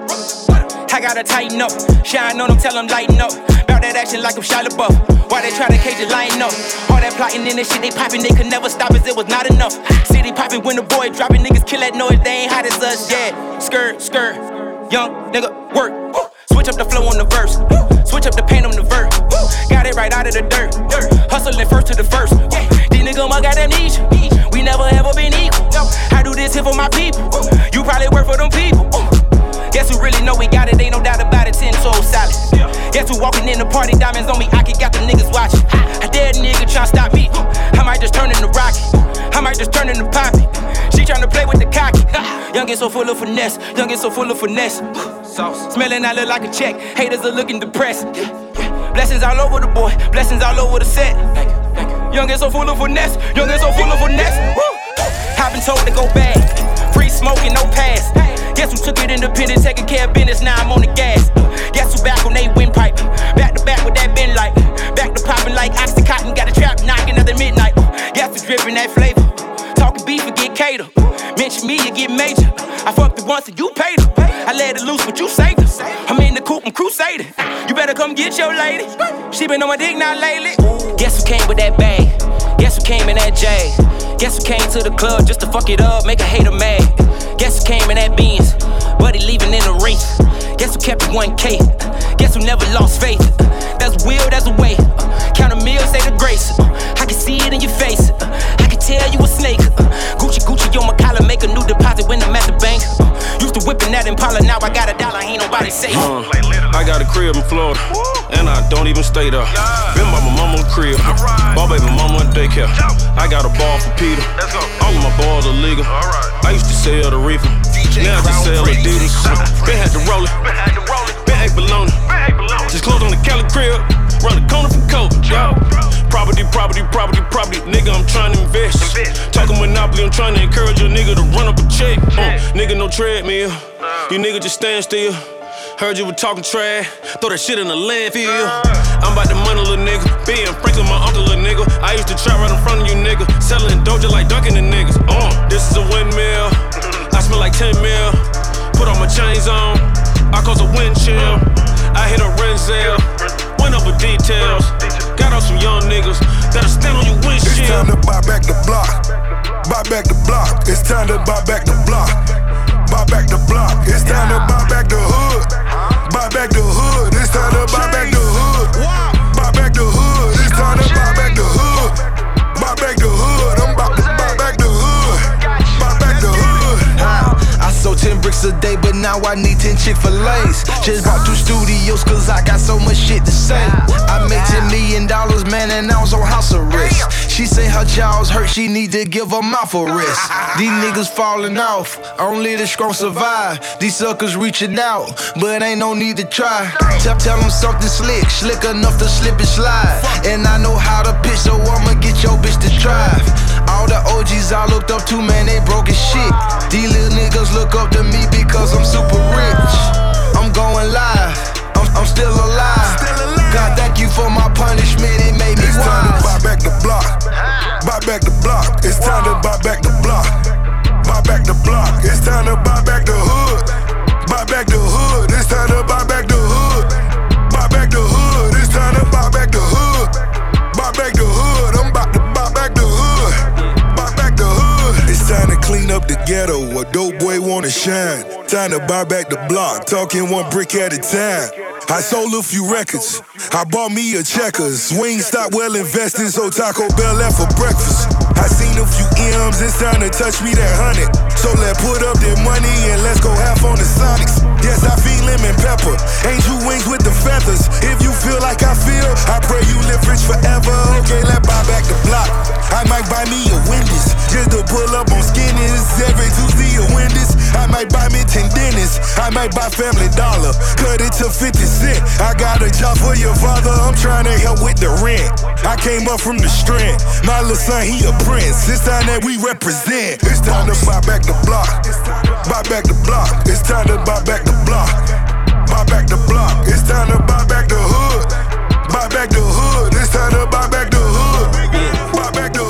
I gotta tighten up, shine on them, tell them lighten up. Bout that action like I'm Shia LaBeouf. Why they try to cage it, line up? All that plotting in this shit they popping, they could never stop us, it was not enough. City popping when the boy dropping, niggas kill that noise, they ain't hot as us, yeah. Skirt, skirt, young nigga, work. Switch up the flow on the verse, switch up the paint on the verse. Got it right out of the dirt, hustling first to the first. These niggas must got amnesia, we never ever been equal. I do this here for my people, you probably work for them people. Guess who really know we got it, ain't no doubt about it, ten toes solid. Guess who walking in the party, diamonds on me, I can got the niggas watching. I dare a nigga tryna stop me, I might just turn into Rocky, I might just turn into Poppy. She tryna play with the cocky, young and so full of finesse, young and so full of finesse. Smelling, I look like a check, haters are looking depressed. Blessings all over the boy, blessings all over the set. Young and so full of finesse, young and so full of finesse. I've been told to go back, free smoking, no pass. Guess who took it independent, taking care of business, now I'm on the gas. Guess who back on they windpipe, back to back with that bin light. Back to popping like Oxycontin, got a trap knocking at the midnight. Guess who dripping that flavor, talking beef and get cater. Mention me, you get major. I fucked it once and you paid her. I let it loose, but you saved her. I'm in the coop, I'm crusading. You better come get your lady. She been on my dick now lately. Guess who came with that bag? Guess who came in that Jag? Guess who came to the club just to fuck it up, make a hater mad? Guess who came in that Benz, but he leaving in the race? Guess who kept it one K? Guess who never lost faith? That's a will, that's a way. Count a meal, say the grace. I can see it in your face. I can tell you a snake. Gucci, Gucci on my collar, make a new deposit when I'm at the bank. Used to whipping that Impala, now I got a dollar, ain't nobody safe. Uh, I got a crib in Florida, and I don't even stay there. Been by my mama's crib, ball baby mama in daycare. I got a ball for Peter, all of my balls are legal. I used to sell the reefer, now I just sell Adidas. Been had to roll it, been ate bologna. Just closed on the Cali crib, run the corner from Coke. Yeah. Property, property, property, property, nigga, I'm trying to invest. Talking Monopoly, I'm trying to encourage a nigga to run up a check. Uh, nigga, no treadmill, you nigga just stand still. Heard you were talking trash, throw that shit in the landfill. I'm about to money, little nigga. Being Franklin, my uncle, little nigga. I used to trap right in front of you, nigga. Selling Doja like dunking the niggas. Uh, this is a windmill. I smell like ten mil. Put all my chains on. I cause a wind chill. I hit a Renzel. Went over details. Got out some young niggas that'll stand on your windshield. It's time to buy back the block. Buy back the block. It's time to buy back the block. Buy back the block. It's time to buy back the hood. Buy back the hood. It's time to buy back the hood. Buy back the hood. It's time to buy back the hood. Buy back the hood. I'm about to buy back the hood. Buy back the hood. I sold ten bricks a day, but now I need ten Chick-fil-A's. Just bought two studios, cause I got so much shit to say. I made ten million dollars, man, and I was on house arrest. She say her jaw's hurt, she need to give her mouth a rest. These niggas falling off, only the strong survive. These suckers reaching out, but ain't no need to try. Tell, tell them something slick, slick enough to slip and slide. And I know how to pitch, so I'ma get your bitch to drive. All the O Gs I looked up to, man, they broke as shit. These little niggas look up to me because I'm super rich. I'm going live, I'm, I'm still alive. God, thank you for my punishment, it made me it's wise. It's time to buy back the block. Buy back the block. It's time to buy back the block. Buy back the block. It's time to buy back the hood. Buy back the hood. It's time to buy back the hood. Buy back the hood. It's time to buy back the hood. Buy back the hood. I'm about to buy back the hood. Buy back the hood. It's time to clean up the ghetto. A dope boy wanna shine. Time to buy back the block. Talking one brick at a time. I sold a few records. I bought me a Checkers. Wingstop well invested, so Taco Bell left for breakfast. I seen a few M's, it's time to touch me that hundred. So let's put up that money and let's go half on the Sonics. Yes, I feel lemon pepper, angel wings with the feathers. If you feel like I feel, I pray you live rich forever. Okay, let's buy back the block. I might buy me a Wendy's, just to pull up on Skinnies. Every Tuesday a Wendy's, I might buy me ten dentists. I might buy Family Dollar, cut it to fifty cent. I got a job for your father, I'm trying to help with the rent. I came up from the strand, my little son, he a prince. It's time that we represent. It's time to buy back the block, buy back the block. It's time to buy back the block, buy back the block. It's time to buy back the hood, buy back the hood. It's time to buy back the hood, buy back the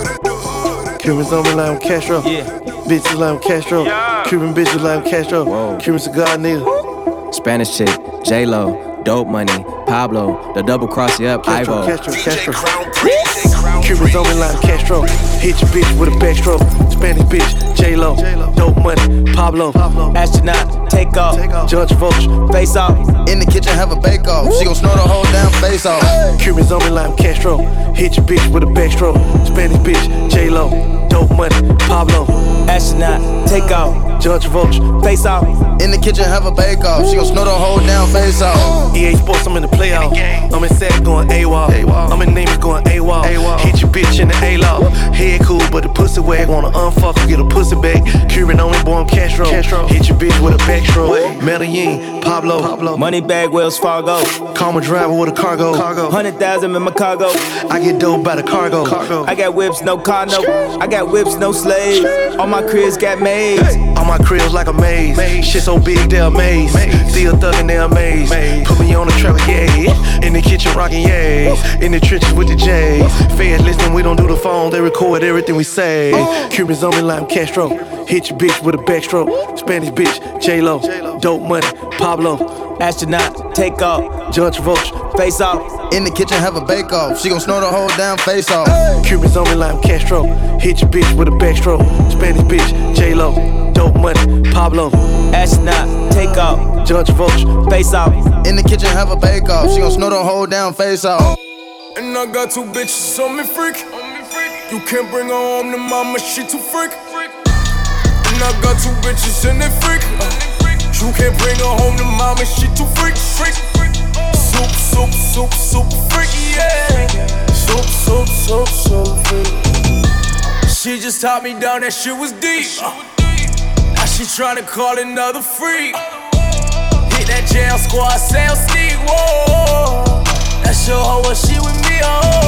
hood. Cubans on me like I'm Castro, yeah. Bitches like I'm Castro, yeah. Cuban bitches like I'm Castro. Whoa. Cuban cigar nigga. Spanish chick, J-Lo, dope money, Pablo, the double cross you up, Castro, Ivo. Castro, Castro. Cubans on me like I'm Castro. Hit your bitch with a backstroke. Spanish bitch, J-Lo, dope money, Pablo. Astronaut, take off. Judge Vulture, face off. In the kitchen, have a bake off. She gon' snort the whole damn face off. Cubans on me like I'm Castro. Hit your bitch with a backstroke. Spanish bitch, J-Lo, dope money, Pablo. Astronaut, take off. Judge Vulture, face off. In the kitchen, have a bake off. She gon' snort the whole damn face off. E A Sports, I'm in the playoff. I'm in sack going AWOL. I'm in names going AWOL. Hit your bitch in the A-Law. Head cool, but the pussy wag. Wanna unfuck, get a pussy back. Cuban only born Castro. Castro. Hit your bitch with a backstroke. Medellin, Pablo. Pablo. Money bag, Wells Fargo. Call my driver with a cargo. cargo. Hundred thousand in my cargo. I get dope by the cargo. cargo. I got whips, no car, no. I got whips, no slaves. All my cribs got maids. All my cribs like a maze. Shit so big, they're amazed. Still thuggin', they're amazed. Put me on the track, yeah. In the kitchen, rockin', yeah. In the trenches with the J's. Feds listen, we don't do the phone. They record everything we say. Cubans on me like I'm Castro. Hit your bitch with a backstroke. Spanish bitch, J-Lo, dope money, Pablo. Astronaut, take off. Judge Vulture, face off. In the kitchen, have a bake off. She gon' snort the whole damn face off. Cubans on me like I'm Castro. Hit your bitch with a backstroke. Spanish bitch, J-Lo, dope money, Pablo. Astronaut, take off. Judge Vulture, face off. In the kitchen, have a bake off. She gon' snort the whole damn face off. And I got two bitches on me freak. You can't bring her home to mama, she too freak. And I got two bitches in that freak. You can't bring her home to mama, she too freak. Freak. Soup, soup, soup, soup, freak, yeah. Soup, soup, soup, soup, freak. She just taught me down, that shit was deep. Now she tryna call another freak. Hit that jail squad, sales sneak, whoa. That's your hoe, what she with me,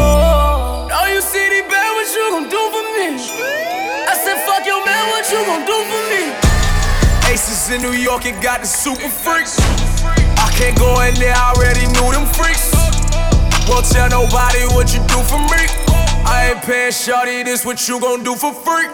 oh. Now you see the bad, what you gon' do for me? I said, fuck your man, what you gon' do for me? Aces in New York, it got the super freaks. I can't go in there, I already knew them freaks. Won't tell nobody what you do for me. I ain't paying shawty, this what you gon' do for free.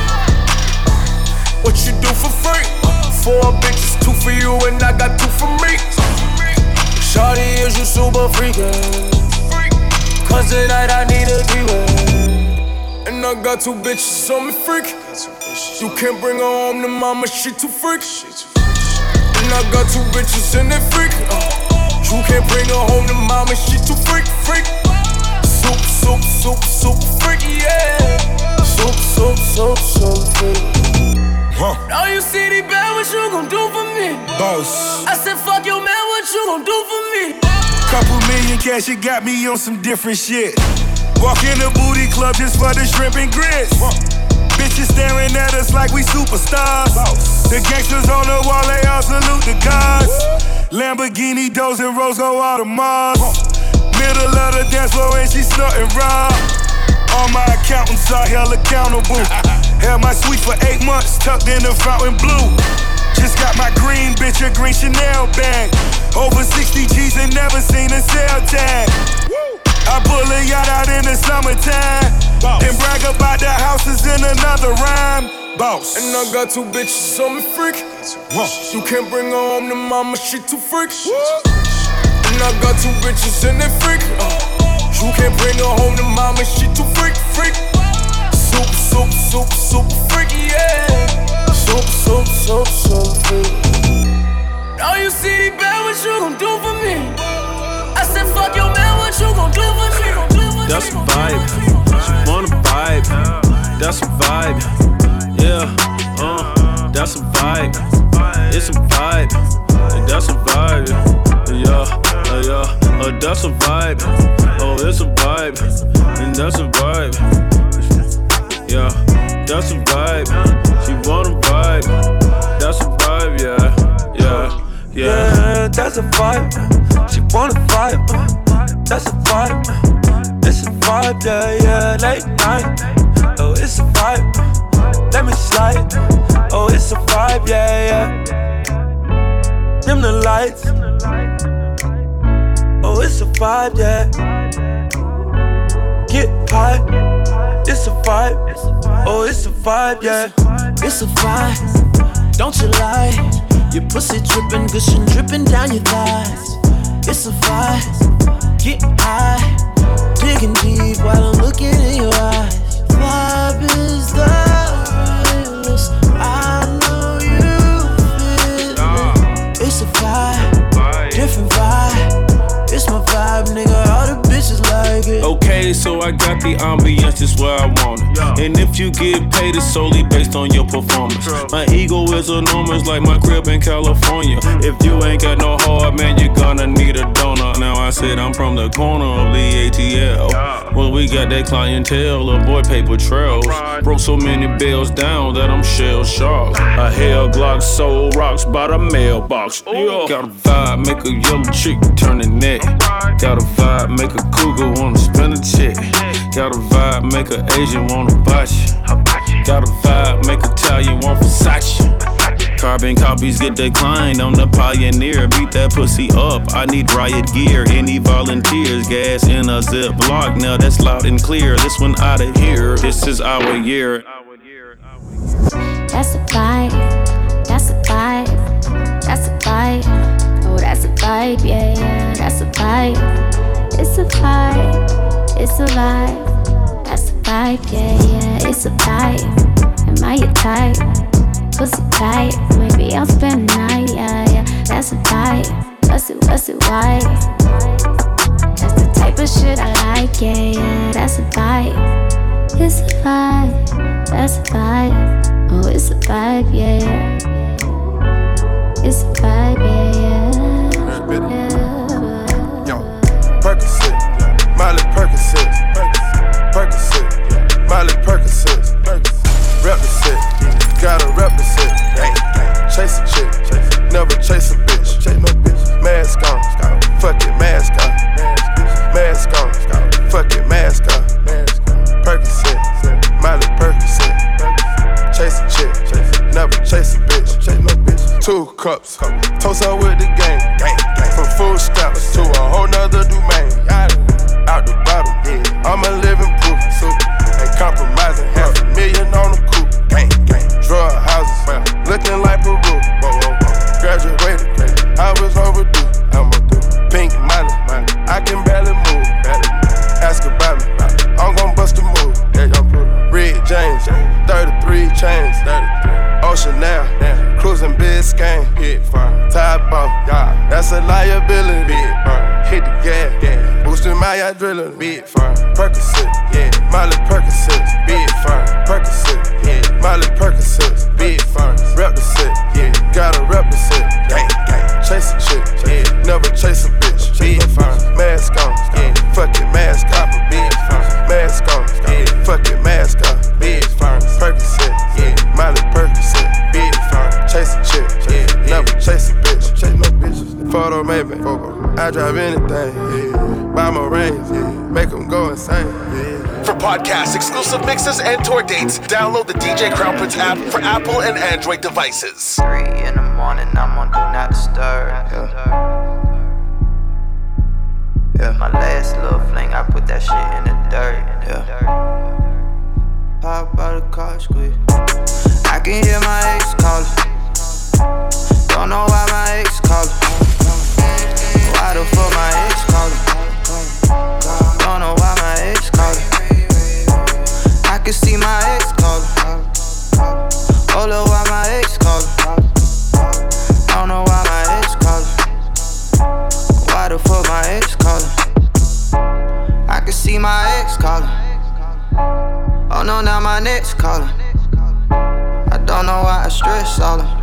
What you do for free? Four bitches, two for you, and I got two for me. Shawty, is you super freakin'? Cause tonight I need a three-way. And I got two bitches on me freak. You can't bring her home to mama, she too freak. And I got two bitches in that freak. You can't bring her home to mama, she too freak, freak. Soup, soup, soup, soup, freak, yeah. Soup, soup, soup, soup, freak. Huh. Now you see the bad, what you gon' do for me? Boss. I said, fuck your man, what you gon' do for me? Couple million cash, it got me on some different shit. Walk in the booty club just for the shrimp and grits. Huh. Bitches staring at us like we superstars. Boss. The gangsters on the wall, they all salute the gods. Lamborghini, doors and Rose go all to Mars. Huh. Middle of the dance floor and she snorting raw. All my accountants are held accountable. Held my suite for eight months, tucked in the fountain blue. Just got my green bitch a green Chanel bag. Over sixty G's and never seen a sale tag. I pull a yacht out in the summertime. Boss. And brag about the houses in another rhyme. Boss. And I got two bitches on me freak. Whoa. You can't bring her home to mama, she too freak. And I got two bitches in that freak. You can't bring her home to mama, she too freak, freak. Soup, soup, soup, soup, freak, yeah. Soup, soup, soup, soup, freak. Now you see the bad, what you gon' do for me? I said, fuck your man, what you gon' do for me? That's a vibe. She wanna vibe. That's a vibe. Yeah, uh, that's a vibe. It's a vibe. That's a vibe. Yeah, uh, yeah, uh, that's a vibe. Oh, it's a vibe. And that's a vibe. Yeah, that's a vibe. She want a vibe. That's a vibe, yeah, yeah, yeah. Yeah, that's a vibe. She want a vibe. That's a vibe. It's a vibe, yeah, yeah. Late night. Oh, it's a vibe. Let me slide. Oh, it's a vibe, yeah, yeah. Dim the lights. Oh, it's a vibe, yeah. Get high. It's a vibe. Oh, it's a vibe, yeah. It's a vibe. Don't you lie. Your pussy dripping, gushing, dripping down your thighs. It's a vibe. Get high. Digging deep while I'm looking in your eyes. Vibe is the realest. I know you feel it. It's a vibe, different vibe. It's my vibe, nigga. All the bitches like it. Okay, so I got the ambience just where I want it. And if you get paid, it's solely based on your performance. My ego is enormous, like my crib in California. If you ain't got no heart, man, you're gonna need a donor. Now I said I'm from the corner of the A T L. Well, we got that clientele, avoid paper trails. Broke so many bills down that I'm shell shocked. A hell Glock sold rocks by the mailbox. Yeah. Got a vibe, make a yellow chick turn the neck. Got a vibe, make a cougar wanna spend a check. Got a vibe, make a Asian wanna botch you. Got a vibe, make Italian want Versace. Carbon copies get declined, I'm the pioneer. Beat that pussy up, I need riot gear. Any volunteers, gas in a zip block. Now that's loud and clear, this one out of here. This is our year. That's a vibe, that's a vibe, that's a vibe. Oh, that's a vibe, yeah, yeah, that's a vibe. It's a vibe, it's a vibe. That's a vibe, yeah, yeah, it's a vibe. Am I your type? Pussy tight, maybe I'll spend the night, yeah, yeah. That's a vibe, what's it, what's it, why? That's the type of shit I like, yeah, yeah. That's a vibe, it's a vibe. That's a vibe, oh, it's a vibe, yeah, yeah. It's a vibe, yeah, yeah, yeah. Yo, Percocet, Miley Percocet, Percocet, Miley Percocet, represent, gotta represent. Chase a chick, never chase a bitch. Mask on, fuck it, mask on. Mask on, fuck it, mask on. Percocet, Miley Percocet. Chase a chick, never chase a bitch. Two cups, toast up with the gang. From food stamps to a whole nother domain. Out the bottom, I'm a living proof. Ain't compromising, half a million on the coupe. Drug houses, looking like Peru. Graduated, I was overdue. I'm a do pink money, I can barely move. Ask about me, I'm gon' bust a move. Red James, thirty-three chains. Ocean now, cruising Biscayne. Top off, that's a liability. Hit the gas, boosting my adrenaline. Big firm, Percocet, yeah, Miley Percocet, big firm, Percocet, yeah, Miley Percocet, big firm, represent, yeah, gotta represent, gang, gang, chase a chick, yeah, never chase a bitch, big firm, mask on, yeah, fuck it, mask off, big firm, mask on, yeah, fuck it, mask off, big firm, Percocet, yeah, Miley Percocet, big firm, chase a chick, yeah, never chase a bitch, chase no bitches, photo maybe, I drive anything, yeah. Buy my range, yeah. Make them go insane, yeah. For podcasts, exclusive mixes, and tour dates, download the D J Crown Prince app for Apple and Android devices. Three in the morning, I'm on Do Not Disturb, yeah. Yeah. My last little fling, I put that shit in the dirt, yeah. Pop out the car, squeeze. I can hear my ex calling. Don't know why my ex calling. Why the fuck my ex callin'? Don't know why my ex callin'. I can see my ex callin'. Oh, look why my ex callin'. Don't know why my ex callin'. Why the fuck my ex callin'? I can see my ex callin'. Oh no, calling. I don't know why I stress all them.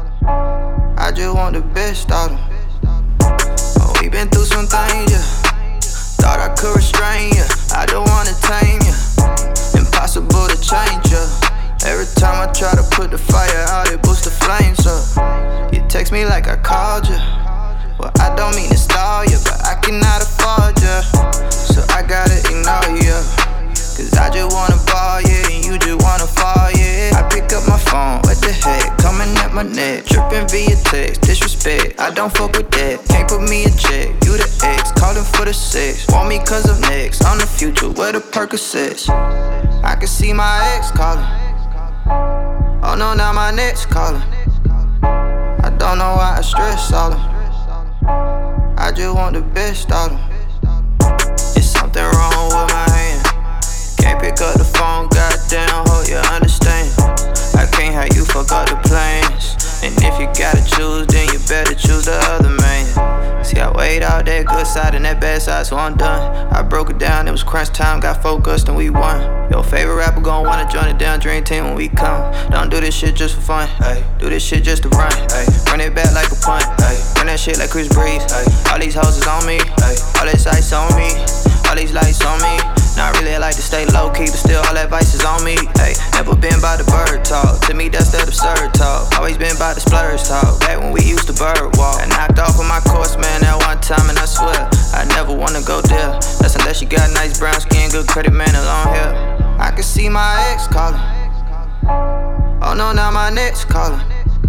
I just want the best out of them. Oh, we been through some things, yeah. Thought I could restrain ya, I don't wanna tame ya. Impossible to change ya. Every time I try to put the fire out, it boosts the flames up. You text me like I called ya. Well, I don't mean to stall ya, but I cannot afford ya. So I gotta ignore ya. Cause I just wanna ball, yeah, and you just wanna fall, yeah. I pick up my phone, what the heck, coming at my neck. Tripping via text, disrespect, I don't fuck with that. Can't put me in check, you the ex, calling for the sex. Want me cause of next, I'm the future, where the Percocets. I can see my ex calling. Oh no, now my next calling. I don't know why I stress all them. I just want the best out of them. It's something wrong with my hand. Can't pick up the phone, goddamn, hope you understand. I can't have you fuck up the plans. And if you gotta choose, then you better choose the other man. See, I weighed out that good side and that bad side, so I'm done. I broke it down, it was crunch time, got focused and we won. Your favorite rapper gon' wanna join the damn dream team when we come. Don't do this shit just for fun, ay. Do this shit just to run, ay. Run it back like a punt, ay. Run that shit like Chris Breeze, ay. All these hoes is on me, ay. All this ice on me, all these lights on me. Not really, I like to stay low-key, but still all that vice is on me, ayy. Never been by the bird talk, to me that's that absurd talk. Always been by the splurge talk, back when we used to bird walk. I knocked off on my course, man, that one time, and I swear I never wanna go there. That's unless you got nice brown skin, good credit, man, and long hair. I can see my ex calling. Oh no, now my next calling.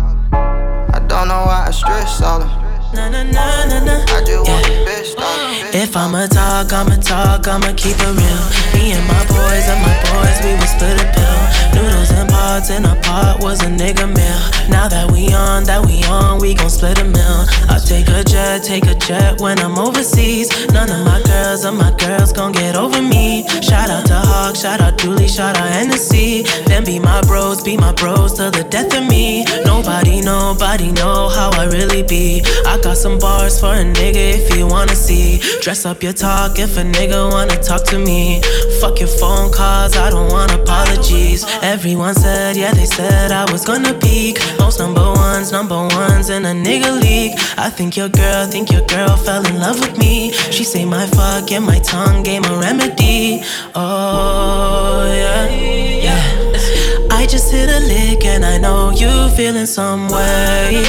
I don't know why I stress all them. Na, na, na, na, na. I just want yeah. the best out of it. If I'ma talk, I'ma talk, I'ma keep it real. Me and my boys and my boys, we would split a pill. Noodles and pots in a pot was a nigga meal. Now that we on, that we on, we gon' split a meal. I take a jet, take a jet when I'm overseas. None of my girls or my girls gon' get over me. Shout out to Hawk, shout out Dooley, shout out Hennessy. Them be my bros, be my bros till the death of me. Nobody, nobody know how I really be. I got some bars for a nigga if you wanna see. Dress up your talk if a nigga wanna talk to me. Fuck your phone calls, I don't want apologies. Everyone said, yeah, they said I was gonna peak. Most number ones, number ones in a nigga league. I think your girl, think your girl fell in love with me. She say my fuck and my tongue gave a remedy. Oh, yeah, yeah. I just hit a lick and I know you feeling some way.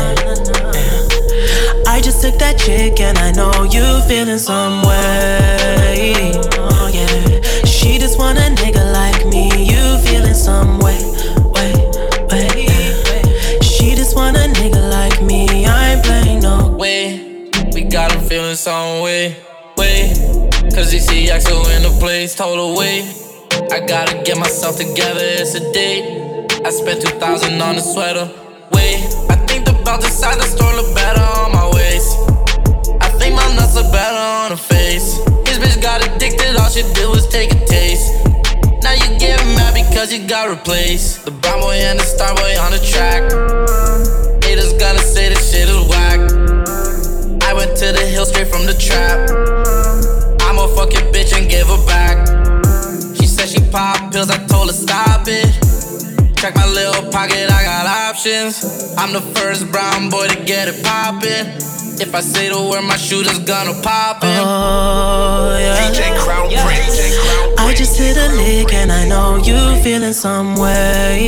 I just took that chick and I know you feeling some way. Oh yeah, she just want a nigga like me. You feeling some way, way, way. She just want a nigga like me. I ain't playing no way. We got him feeling some way, way. Cause he see Axel in the place, told her wait. I gotta get myself together, it's a date. I spent two thousand on a sweater, wait. I think the belt inside the store look better on my waist. I think my nuts look better on her face. His bitch got addicted, all she did was take a taste. Now you get mad because you got replaced. The brown boy and the star boy on the track. Haters gonna say this shit is whack. I went to the hill straight from the trap. I'ma fuck your bitch and give her back. She said she pop pills, I told her stop it. Check my little pocket, I got options. I'm the first brown boy to get it poppin'. If I say the word, my shooter's gonna pop it. Oh, yeah. D J Crown Prince. D J Crown Prince. I just hit a lick and I know you feeling some way.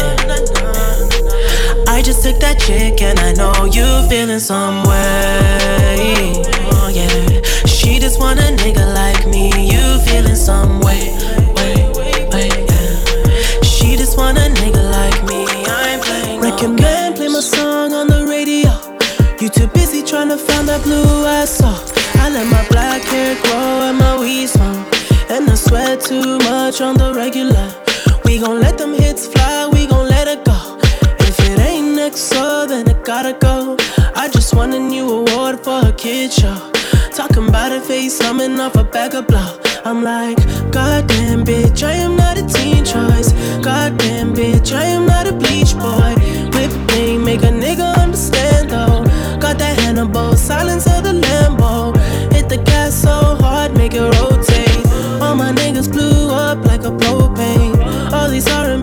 I just took that chick and I know you feeling some way. Oh yeah, she just want a nigga like me. You feeling some way, way, way, yeah. She just want a nigga like me. I ain't playing. Recommend play my song on the radio. You too busy trying to find that blue ass soul. I let my black hair grow and my weed smoke, and I sweat too much on the regular. We gon' let them hits fly, we gon' let it go. If it ain't next, so then it gotta go. I just won a new award for a kid show. Talking about a face, coming off a bag of blow. I'm like, goddamn bitch, I am not a teen choice. Goddamn bitch, I am not a bleach boy. Whip thing, make a nigga understand though. Got that Hannibal, silence of the Lambo. Hit the gas so hard, make it rotate. All my niggas blew up like a propane. All these R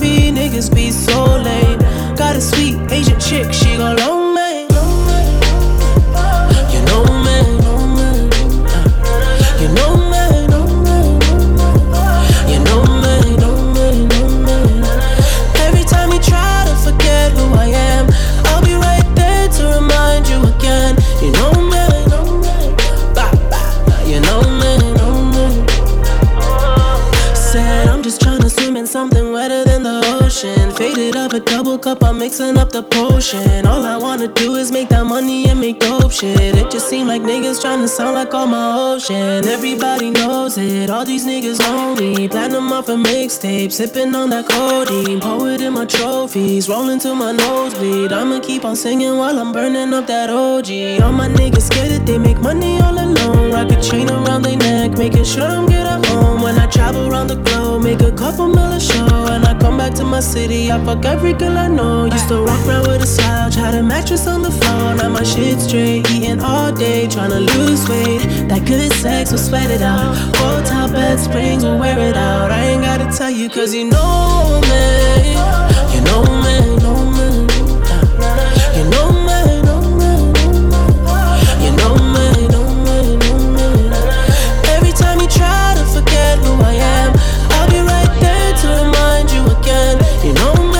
dick, she gon' loan me. You know me, you know me, you know me, know me, know me. Every time you try to forget who I am, I'll be right there to remind you again. You know me, bah, bah, you know me, know me. Said I'm just tryna swim in something wetter than the ocean. Faded up a double cup, I'm mixing up the potion. All I wanna do is make that money and make dope shit. It just seem like niggas tryna sound like all my ocean. Everybody knows it, all these niggas know me. Platinum off a mixtape, sipping on that codeine. Poet in my trophies, rolling to my nosebleed. I'ma keep on singing while I'm burning up that O G. All my niggas scared that they make money all alone. Rock a chain around their neck, making sure I'm good at home. When I travel around the globe, make a couple mil a show. And I come back to my city, I fuck every girl I know. Used to walk around with a slouch, had a mattress on the floor. Now my shit straight, eating all day, tryna lose weight. That good sex will sweat it out. Hotel bed springs will wear it out. I ain't gotta tell you cause you know me. You know me, know me. You know me, know me. You know me, know me, know me. Every time you try to forget who I am, I'll be right there to remind you again. You know me.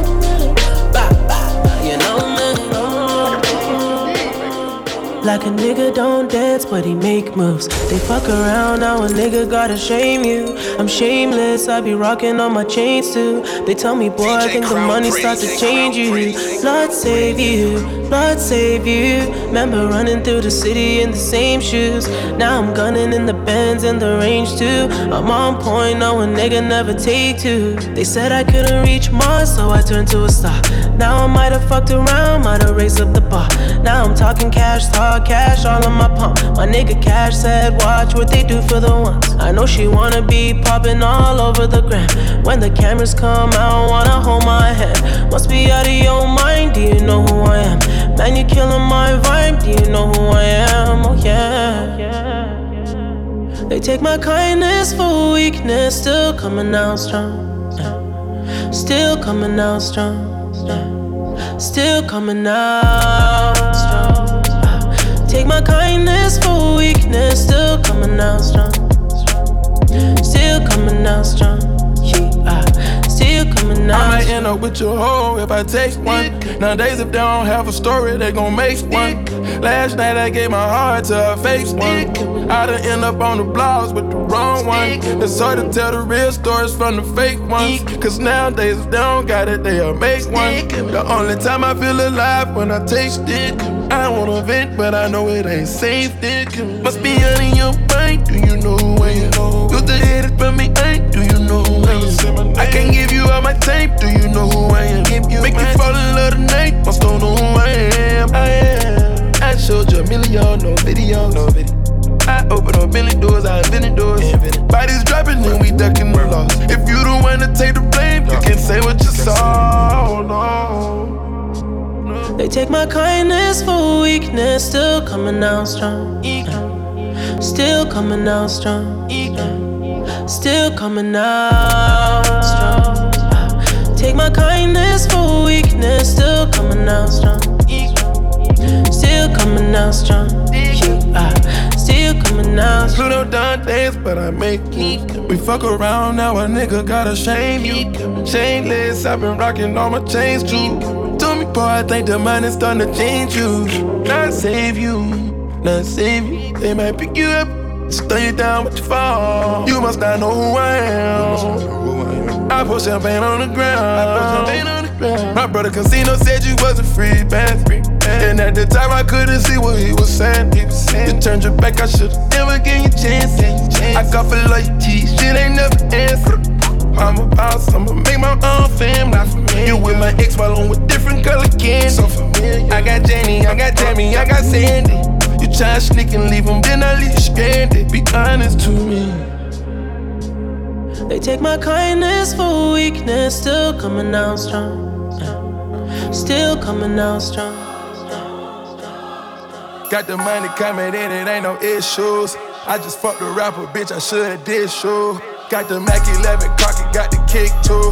Like a nigga don't dance, but he make moves. They fuck around, now a nigga gotta shame you. I'm shameless, I be rocking on my chains too. They tell me, boy, I think the money start to change you. Lord save you, Lord save you. Remember running through the city in the same shoes. Now I'm gunning in the Benz and the range too. I'm on point, now a nigga never take two. They said I couldn't reach Mars, so I turned to a star. Now I might have fucked around, might have raised up the bar. Now I'm talking cash, talk cash all on my pump. My nigga Cash said, watch what they do for the ones. I know she wanna be popping all over the gram. When the cameras come out, wanna hold my hand. Must be out of your mind, do you know who I am? Man, you killing my vibe, do you know who I am? Oh yeah, yeah. They take my kindness for weakness, still coming out strong, yeah. Still coming out strong, yeah. Still coming out strong. Take my kindness for weakness, still coming out strong. Still coming out strong. Yeah, still coming out. I might end up with your hoe if I take one. Nowadays, if they don't have a story, they gon' make one. Last night I gave my heart to a fake one. I done end up on the blogs with the wrong one. It's hard to tell the real stories from the fake ones. Cause nowadays, if they don't got it, they'll make one. The only time I feel alive when I taste it. I wanna vent, but I know it ain't safe. Must be out in your mind, do you know who I am? You the headed from me, ain't, do you know who I am? I can't give you all my tape, do you know who I am? Make you fall in love tonight, must don't know who I am. I am. I showed you a million, no video, no video. I open a million doors, I invented doors. Bodies dropping and we ducking the loss. If you the one to take the blame, you can say what you saw, no. They take my kindness for weakness, still coming out strong. Yeah. Still coming out strong. Yeah. Still coming out strong. Yeah. Take my kindness for weakness, still coming out strong. Still coming out strong. Yeah. Still coming out strong. Pluto done dance, but I make it. We fuck around, now a nigga gotta shame you. Shameless, I've been rocking all my chains too. Told me, boy, I think the money's starting to change you. Not save you, not save you. They might pick you up, stay you down with your fall. You must not know who I am. I put champagne on the ground. My brother Casino said you wasn't free, man. And at the time I couldn't see what he was saying. You turned your back, I should've never gave you a chance. I got for loyalty, shit ain't never answered. I'm a boss, I'ma make my own family. You with my ex while I'm with different color candy. So familiar. I got Jenny, I got Tammy, I got Sandy. You try to sneak and leave them, then I leave you stranded. Be honest to me. They take my kindness for weakness, still coming out strong. Yeah. Still coming out strong. Got the money coming in, it ain't no issues. I just fucked a rapper, bitch, I should've did show. Got the Mac eleven Crockett, got the kick too.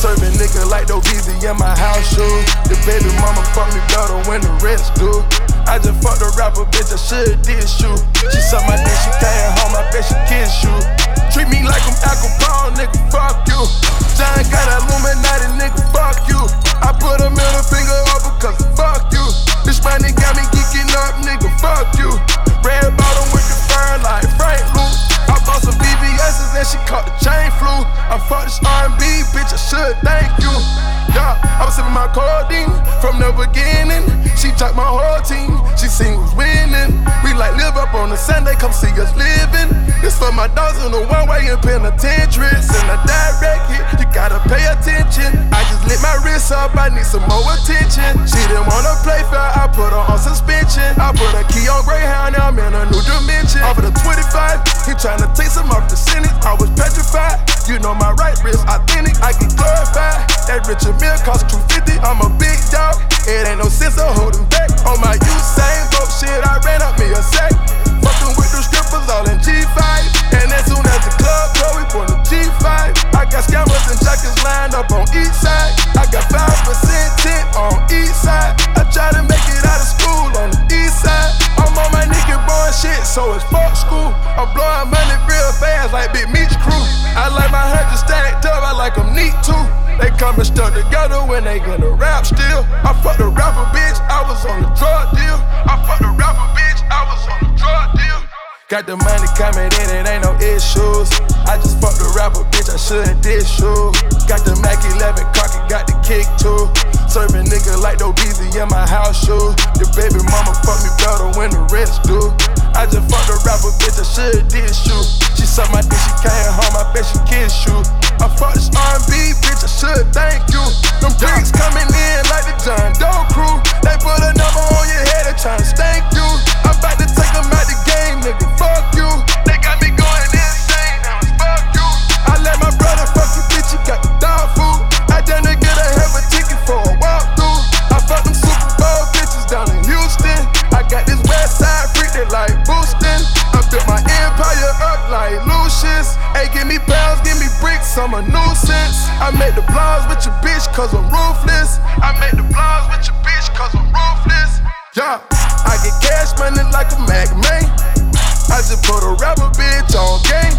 Serving nigga like no easy in my house shoes. The baby mama fuck me better when the rest do. I just fucked a rapper, bitch, I should did shoot. She suck my dick, she came home, I bet she kiss you. Treat me like I'm Al Capone, nigga, fuck you. John got Illuminati, nigga, fuck you. I put a middle finger up because fuck you. This money got me geeking up, nigga, fuck you. Red bottom with the fur like Frank Lou. I bought some B B S's and she caught the chain flu. I fucked this R and B, bitch, I should thank you. Yeah, I was sipping my codeine from the beginning. She took my whole team, she seen who's winning. We like live up on a Sunday, come see us living. This for my dogs in the one-way in penitentiary. Send a direct hit, you gotta pay attention. I just lit my wrist up, I need some more attention. She didn't wanna play fair, I put her on suspension. I put a key on Greyhound, now I'm in a new dimension. Off of the twenty-five, he tryna take some off the sentence. I was petrified, you know my right wrist authentic, I get glorified. That Richard Mill cost two fifty, I'm a big dog. It ain't no sense of holding back. On my Usain Bolt shit, I ran up me a sack. Fucking with the strippers all in G five. And as soon as the club go, we put the G five. I got scammers and jackets lined up on each side. I got five percent tint on each side. I try to make it out of school on the east side. I'm on my nigga boy shit, so it's fuck school. I'm blowing money real fast like Big Meech crew. I like my hundred stacked up, I like them neat too. They coming stuck together when they gonna rap still. I fucked a rapper, bitch, I was on the drug deal. I fucked a rapper, bitch, I was on the drug deal. Got the money coming in, it ain't no issues. I just fucked a rapper, bitch, I shouldn't dish you. Got the Mac eleven cocky, got the kick too. Serving nigga like no Beezy in my house shoes. Your baby mama fuck me better when the rest do. I just fucked a rapper, bitch, I should dish you. She suck my dick, she came home, I bet she kiss you. I fucked this R and B, bitch, I should thank you. Them bricks coming in like the John Doe crew. They put a number on your head, they tryna stank you. I'm about to take them out the game, nigga, fuck you. They got me going insane, now it's fuck you. I let my brother fuck you, bitch, you got the dog food. I done to get a hell of a ticket for a walkthrough. I fucked them Super Bowl bitches down in Houston. I got this west side freak that like boosting. I built my empire up like Lucius. Hey, give me pounds, give me bricks, I'm a nuisance. I made the blogs with your bitch cause I'm ruthless. I made the blogs with your bitch cause I'm ruthless. Yeah, I get cash money like a Mac man. I just put a rapper bitch on game.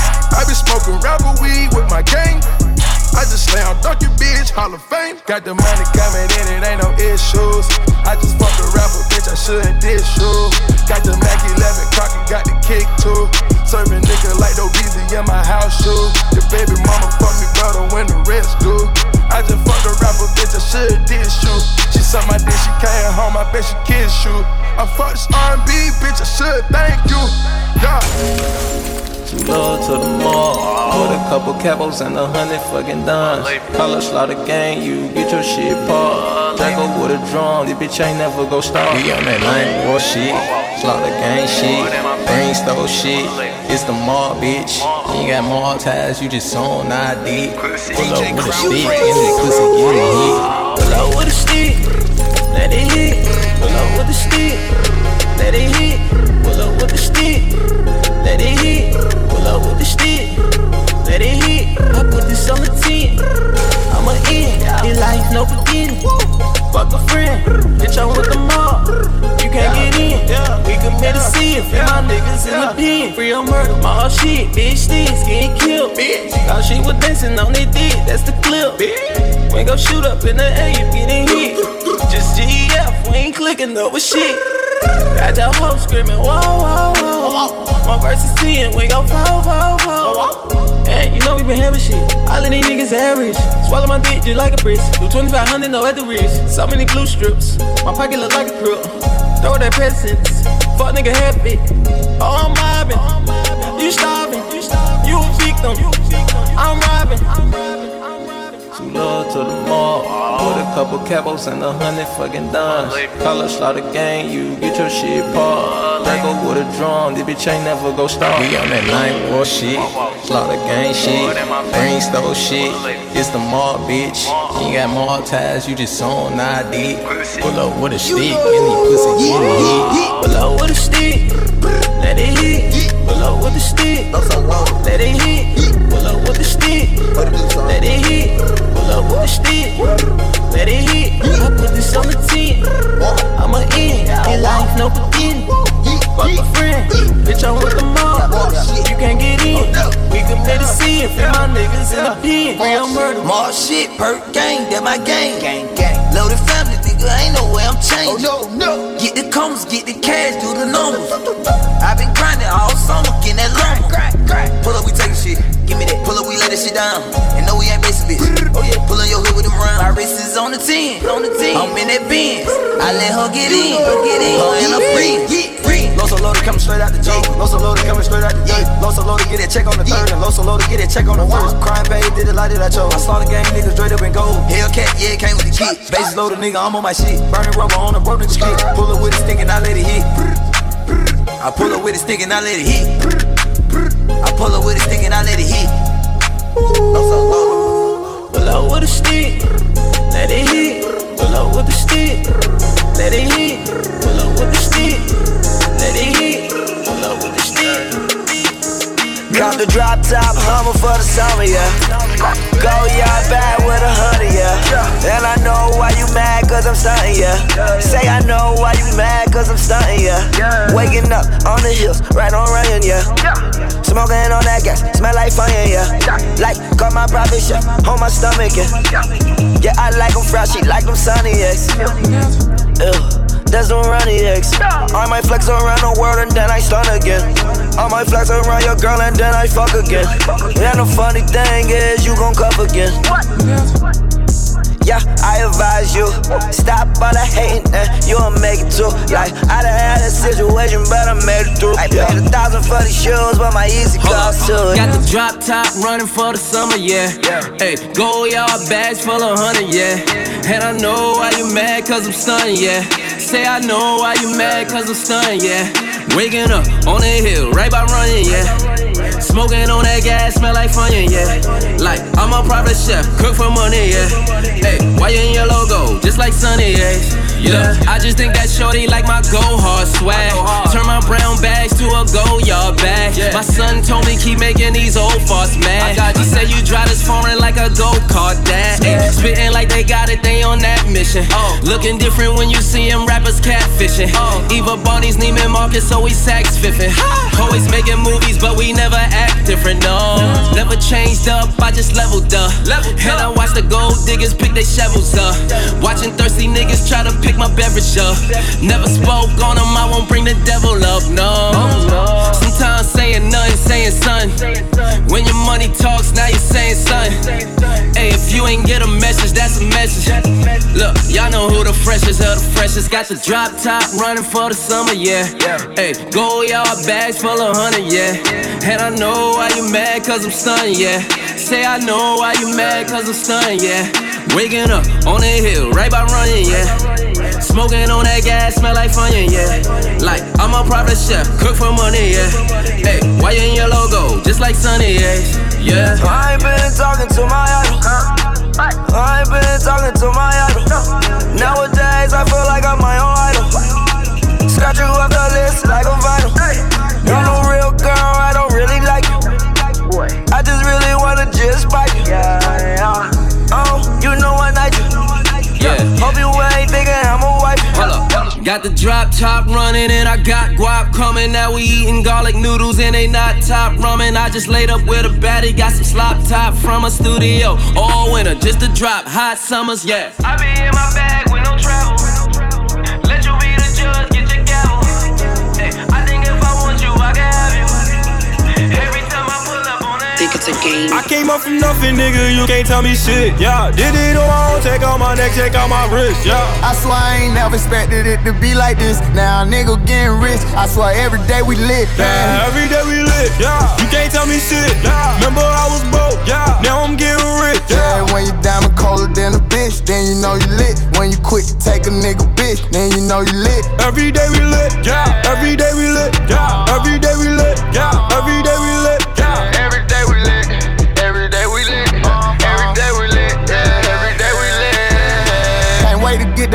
I be smoking rapper weed with my gang. I just slam Dunkin' bitch, Hall of Fame. Got the money coming in, it ain't no issues. I just fucked a rapper, bitch, I shouldn't dish you. Got the Mac eleven cocky, got the kick too. Serving nigga like no Beezy in my house shoes. Your baby mama fuck me better when the rest do. I just fucked a rapper, bitch, I should dish you. She suck my dick, she came home, I bet she kiss you. I fucked this R and B, bitch, I should thank you. Yeah. Too low to the mall. Put a couple capos and a hundred fucking dimes. Call a slaughter gang, you get your shit paused. Drago with a drum, this bitch ain't never go stop. We on that nine war shit, slaughter gang shit, brain stole shit. It's the mall, bitch. You ain't got mall ties, you just on I D. Pull up with a stick, and this pussy get it hit. Pull up with a stick, let it hit. Pull up with a stick, let it hit. Pull up with a stick, let it hit. Pull up with the stick, let it hit. I put this on the ten, I'm a in. In life, no beginning. Fuck a friend, bitch, I'm with the mob. You can't get in, we commit a sin. Free my niggas in the pen. Free on murder, my shit, bitch, sticks getting killed. Now she was dancing on their dick, that's the clip. We ain't gon' shoot up in the air, you getting hit. Just G F, we ain't clicking up with shit. Got that hoe screaming, whoa, whoa, whoa. My verse is ten, we gon' fall, fall, fall. And you know we been having shit. All of these niggas average. Swallow my dick just like a brisk. Do twenty-five hundred, no at the wrist. So many glue strips. My pocket look like a crook. Throw that presents. Fuck nigga happy. Oh, I'm mobbing. You starving. You a victim. I'm robbing. Too low to the mall. Put a couple capos and a hundred fucking dimes. Call a slaughter gang, you get your shit paused. Drago with a drum, this bitch ain't never go stop. We on that nine war shit, slaughter gang shit, brain stole shit. It's the mall, bitch. You ain't got mall ties, you just on I D. Pull up with a stick, and these pussy get it hit. Pull up with a stick, let it hit. Pull up with the stick, let it hit. Pull up with the stick, let it hit. Pull up with the stick, let it hit. I put this on the ten, I'm a in. In life, no beginning. Fuck a friend, bitch, I'm with the mob. You can't get in. We committed sin, free my niggas in the pen. Real murder. More shit, perk gang, that my gang. Gang, gang. Loaded family, nigga, ain't no way I'm changing. Oh, no, no. Get the commas, get the cash, do the numbers. I've been grinding all summer, getting that lumber. Pull up, we taking shit. Give me that. Pull up, we lay that shit down. And no, we ain't basic bitch. Oh yeah, pull on your hood with them round. My wrist is on the ten, on the ten. I'm in that Benz. I let her get in, her get in. Her and her friends. Loso loaded coming straight out the J. Loso loaded coming straight out the J. Loso loaded get that check on the third, and Loso loaded get that check on the first. Crime paid, did it like that I chose. I saw the gang niggas straight up and gold. Hellcat, yeah, came with the kid. Bases loaded nigga, I'm on my shit. Burning rubber on the broke nigga street. Pull up with a stick and I let it hit. I pull up with a stick and I let it hit. I pull up with a stick and I let it hit. Loso loaded. Pull up with a stick, let it hit. Pull up with the stick, let it hit. Pull up with the stick, let it hit. Pull up with the stick. Got the drop top Hummer for the summer, yeah. Go yard back with a hundred, yeah. And I know why you mad, cause I'm stunting, yeah. Say I know why you mad, cause I'm stunting, yeah. Waking up on the hills, right on Ryan, yeah. Smoking on that gas, smell like fire, yeah. Like, got my private chef on my stomach, yeah. Yeah, I like them fresh, she like them sunny, yes. Ew. That's them runny eggs. I might flex around the world and then I stun again. I might flex around your girl and then I fuck again. And the funny thing is you gon' cuff again. Yeah, I advise you, stop all the hating and you'll make it too. Like, I done had a situation, but I made it through. I paid a thousand for these shoes, but my easy cost too. Got the drop top running for the summer, yeah. Hey, go yard bags full of honey, yeah. And I know why you mad, cause I'm stunning, yeah. Say I know why you mad, cause I'm stunning, yeah. Waking up on the hill, right by running, yeah. Smoking on that gas, smell like Funyun, yeah. Like, I'm a private chef, cook for money, yeah. Hey, why you in your logo, just like Sunny, yeah. Yeah, I just think that shorty like my go hard swag. Turn my brown bags to a go yard bag. My son told me keep making these old farts mad. He said you drive this foreign like a go-kart dad. Ay, spitting like they got it, they on that mission. Looking different when you see them rappers catfishing. Eva Barney's Neiman Marcus, always sax fiffing. Always making movies, but we never act different, no. Never changed up, I just leveled up. And I watch the gold diggers pick their shovels up. Watching thirsty niggas try to pick my beverage up. Never spoke on them, I won't bring the devil up, no. Sometimes saying nothing, saying son. When your money talks, now you're saying son. Hey, if you ain't get a message, that's a message. Look, y'all know who the freshest of the freshest. Got the drop top running for the summer, yeah. Hey, go yard bags full of honey, yeah. And I know why you mad, cause I'm stunning, yeah. Say I know why you mad, cause I'm stunning, yeah. Waking up on the hill, right by running, yeah. Smoking on that gas, smell like Funyun, yeah. Like, I'm a private chef, cook for money, yeah. Hey, why you in your logo, just like Sunny, yeah. Yeah. I ain't been talking to my idol. I ain't been talking to my idol. Nowadays, I feel like I'm my own idol. Scratch you off the list like a vinyl. You're no real girl, I don't really like you. I just really wanna just bite you. Oh, you know I like you. Yeah. Hope you ain't thinking I'm a wife. Hold up. Got the drop top running and I got guap coming. Now we eating garlic noodles and they not top ramen. I just laid up with a baddie, got some slop top from a studio. All winter, just to drop hot summers, yeah. I be in my bag with no travel. Let you be the judge, get your gavel. Hey, I think if I want you, I can have you. Every time I pull up on it, think it's a game. I came up from nothing, nigga, you can't tell me shit, yeah. Did it on my own, take out my neck, take out my wrist, yeah. I swear I ain't never expected it to be like this. Now a nigga getting rich, I swear every day we lit, man. Yeah, every day we lit, yeah. You can't tell me shit, yeah. Remember I was broke, yeah. Now I'm getting rich, yeah. Yeah, when you diamond colder than a bitch, then you know you lit. When you quick to take a nigga bitch, then you know you lit. Every day we lit, yeah. Every day we lit, yeah. Every day we lit, yeah. Every day we lit, yeah. Every day we lit. Every day we lit. Every day we lit. Yeah. Every day we lit. Can't wait to get that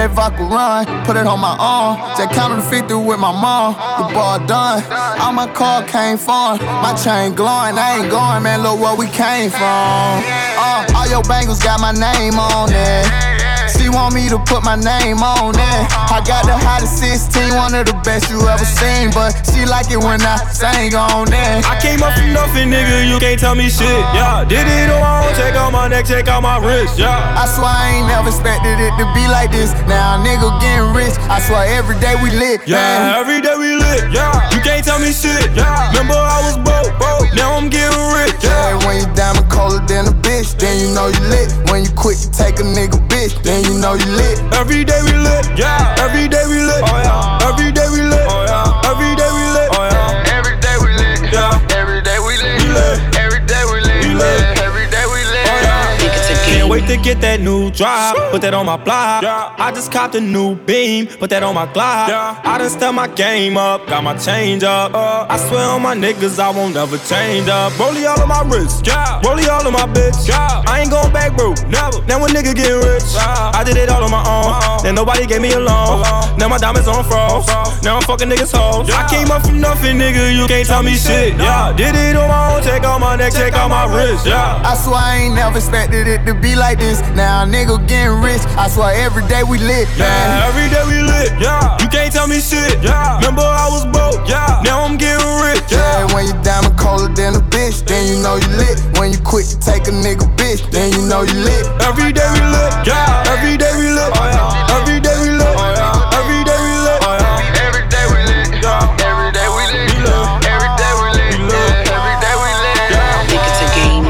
that vodka run. Put it on my arm. Just counted the fifty with my mom. The ball done. All my car came from. My chain glowing. I ain't going, man. Look where we came from. Uh, all your bangles got my name on it. She want me to put my name on it. I got the hottest sixteen, one of the best you ever seen. But she like it when I sang on it. I came up from nothing, nigga, you can't tell me shit, yeah. Did it on my own, check out my neck, check out my wrist, yeah. I swear I ain't never expected it to be like this. Now a nigga getting rich, I swear every day we lit, yeah, man. Every day we lit, yeah. You can't tell me shit, yeah. Remember I was broke, broke, now I'm getting rich, yeah. Yeah, when you diamond colder than a bitch, then you know you lit. When you quit to take a nigga bitch, then you know you lit. Every day we lit, yeah. Every day we lit, oh yeah. Every day we lit, oh yeah. Every day we lit, oh yeah. Every day we lit, yeah. Every day we lit, we lit. Every day we lit, we lit. Every day we lit, oh yeah. Can't wait to get that new drop, put that on my block. Yeah. I just copped a new beam, put that on my Glock. Yeah. I done stepped my game up, got my change up. Uh, I swear on my niggas, I won't never change up. Rollie all of my wrist, yeah. Rollie all of my bitch, yeah. I ain't going back, bro, never. Now a nigga get rich, yeah. I did it all on my own. Uh-oh. Then nobody gave me a loan. Uh-oh. Now my diamonds on froze. Now I'm fucking niggas hoes. Yeah. I came up from nothing, nigga, you can't tell me shit, yeah. Did it on my own, check out my neck, check out my wrist, yeah. I swear I ain't never expected it to be like this. Now a nigga getting rich, I swear every day we lit, man. Yeah, every day we lit, yeah. You can't tell me shit, yeah. Remember I was broke, yeah. Now I'm getting rich, yeah. Yeah, when you diamond colder than a bitch, then you know you lit. When you quit to take a nigga bitch, then you know you lit. Every day we lit, yeah. Every day we lit, oh yeah. Every day we lit, oh yeah. Every day we lit, oh yeah. Every day we lit, yeah. Every day we lit, we lit. Every day we lit, we lit. Every day we lit, yeah. Think it's a game.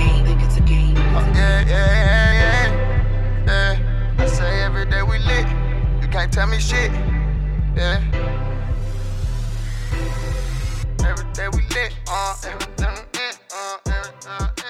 Can't tell me shit, yeah. Every day we lit, uh, every day we lit, uh, every, uh.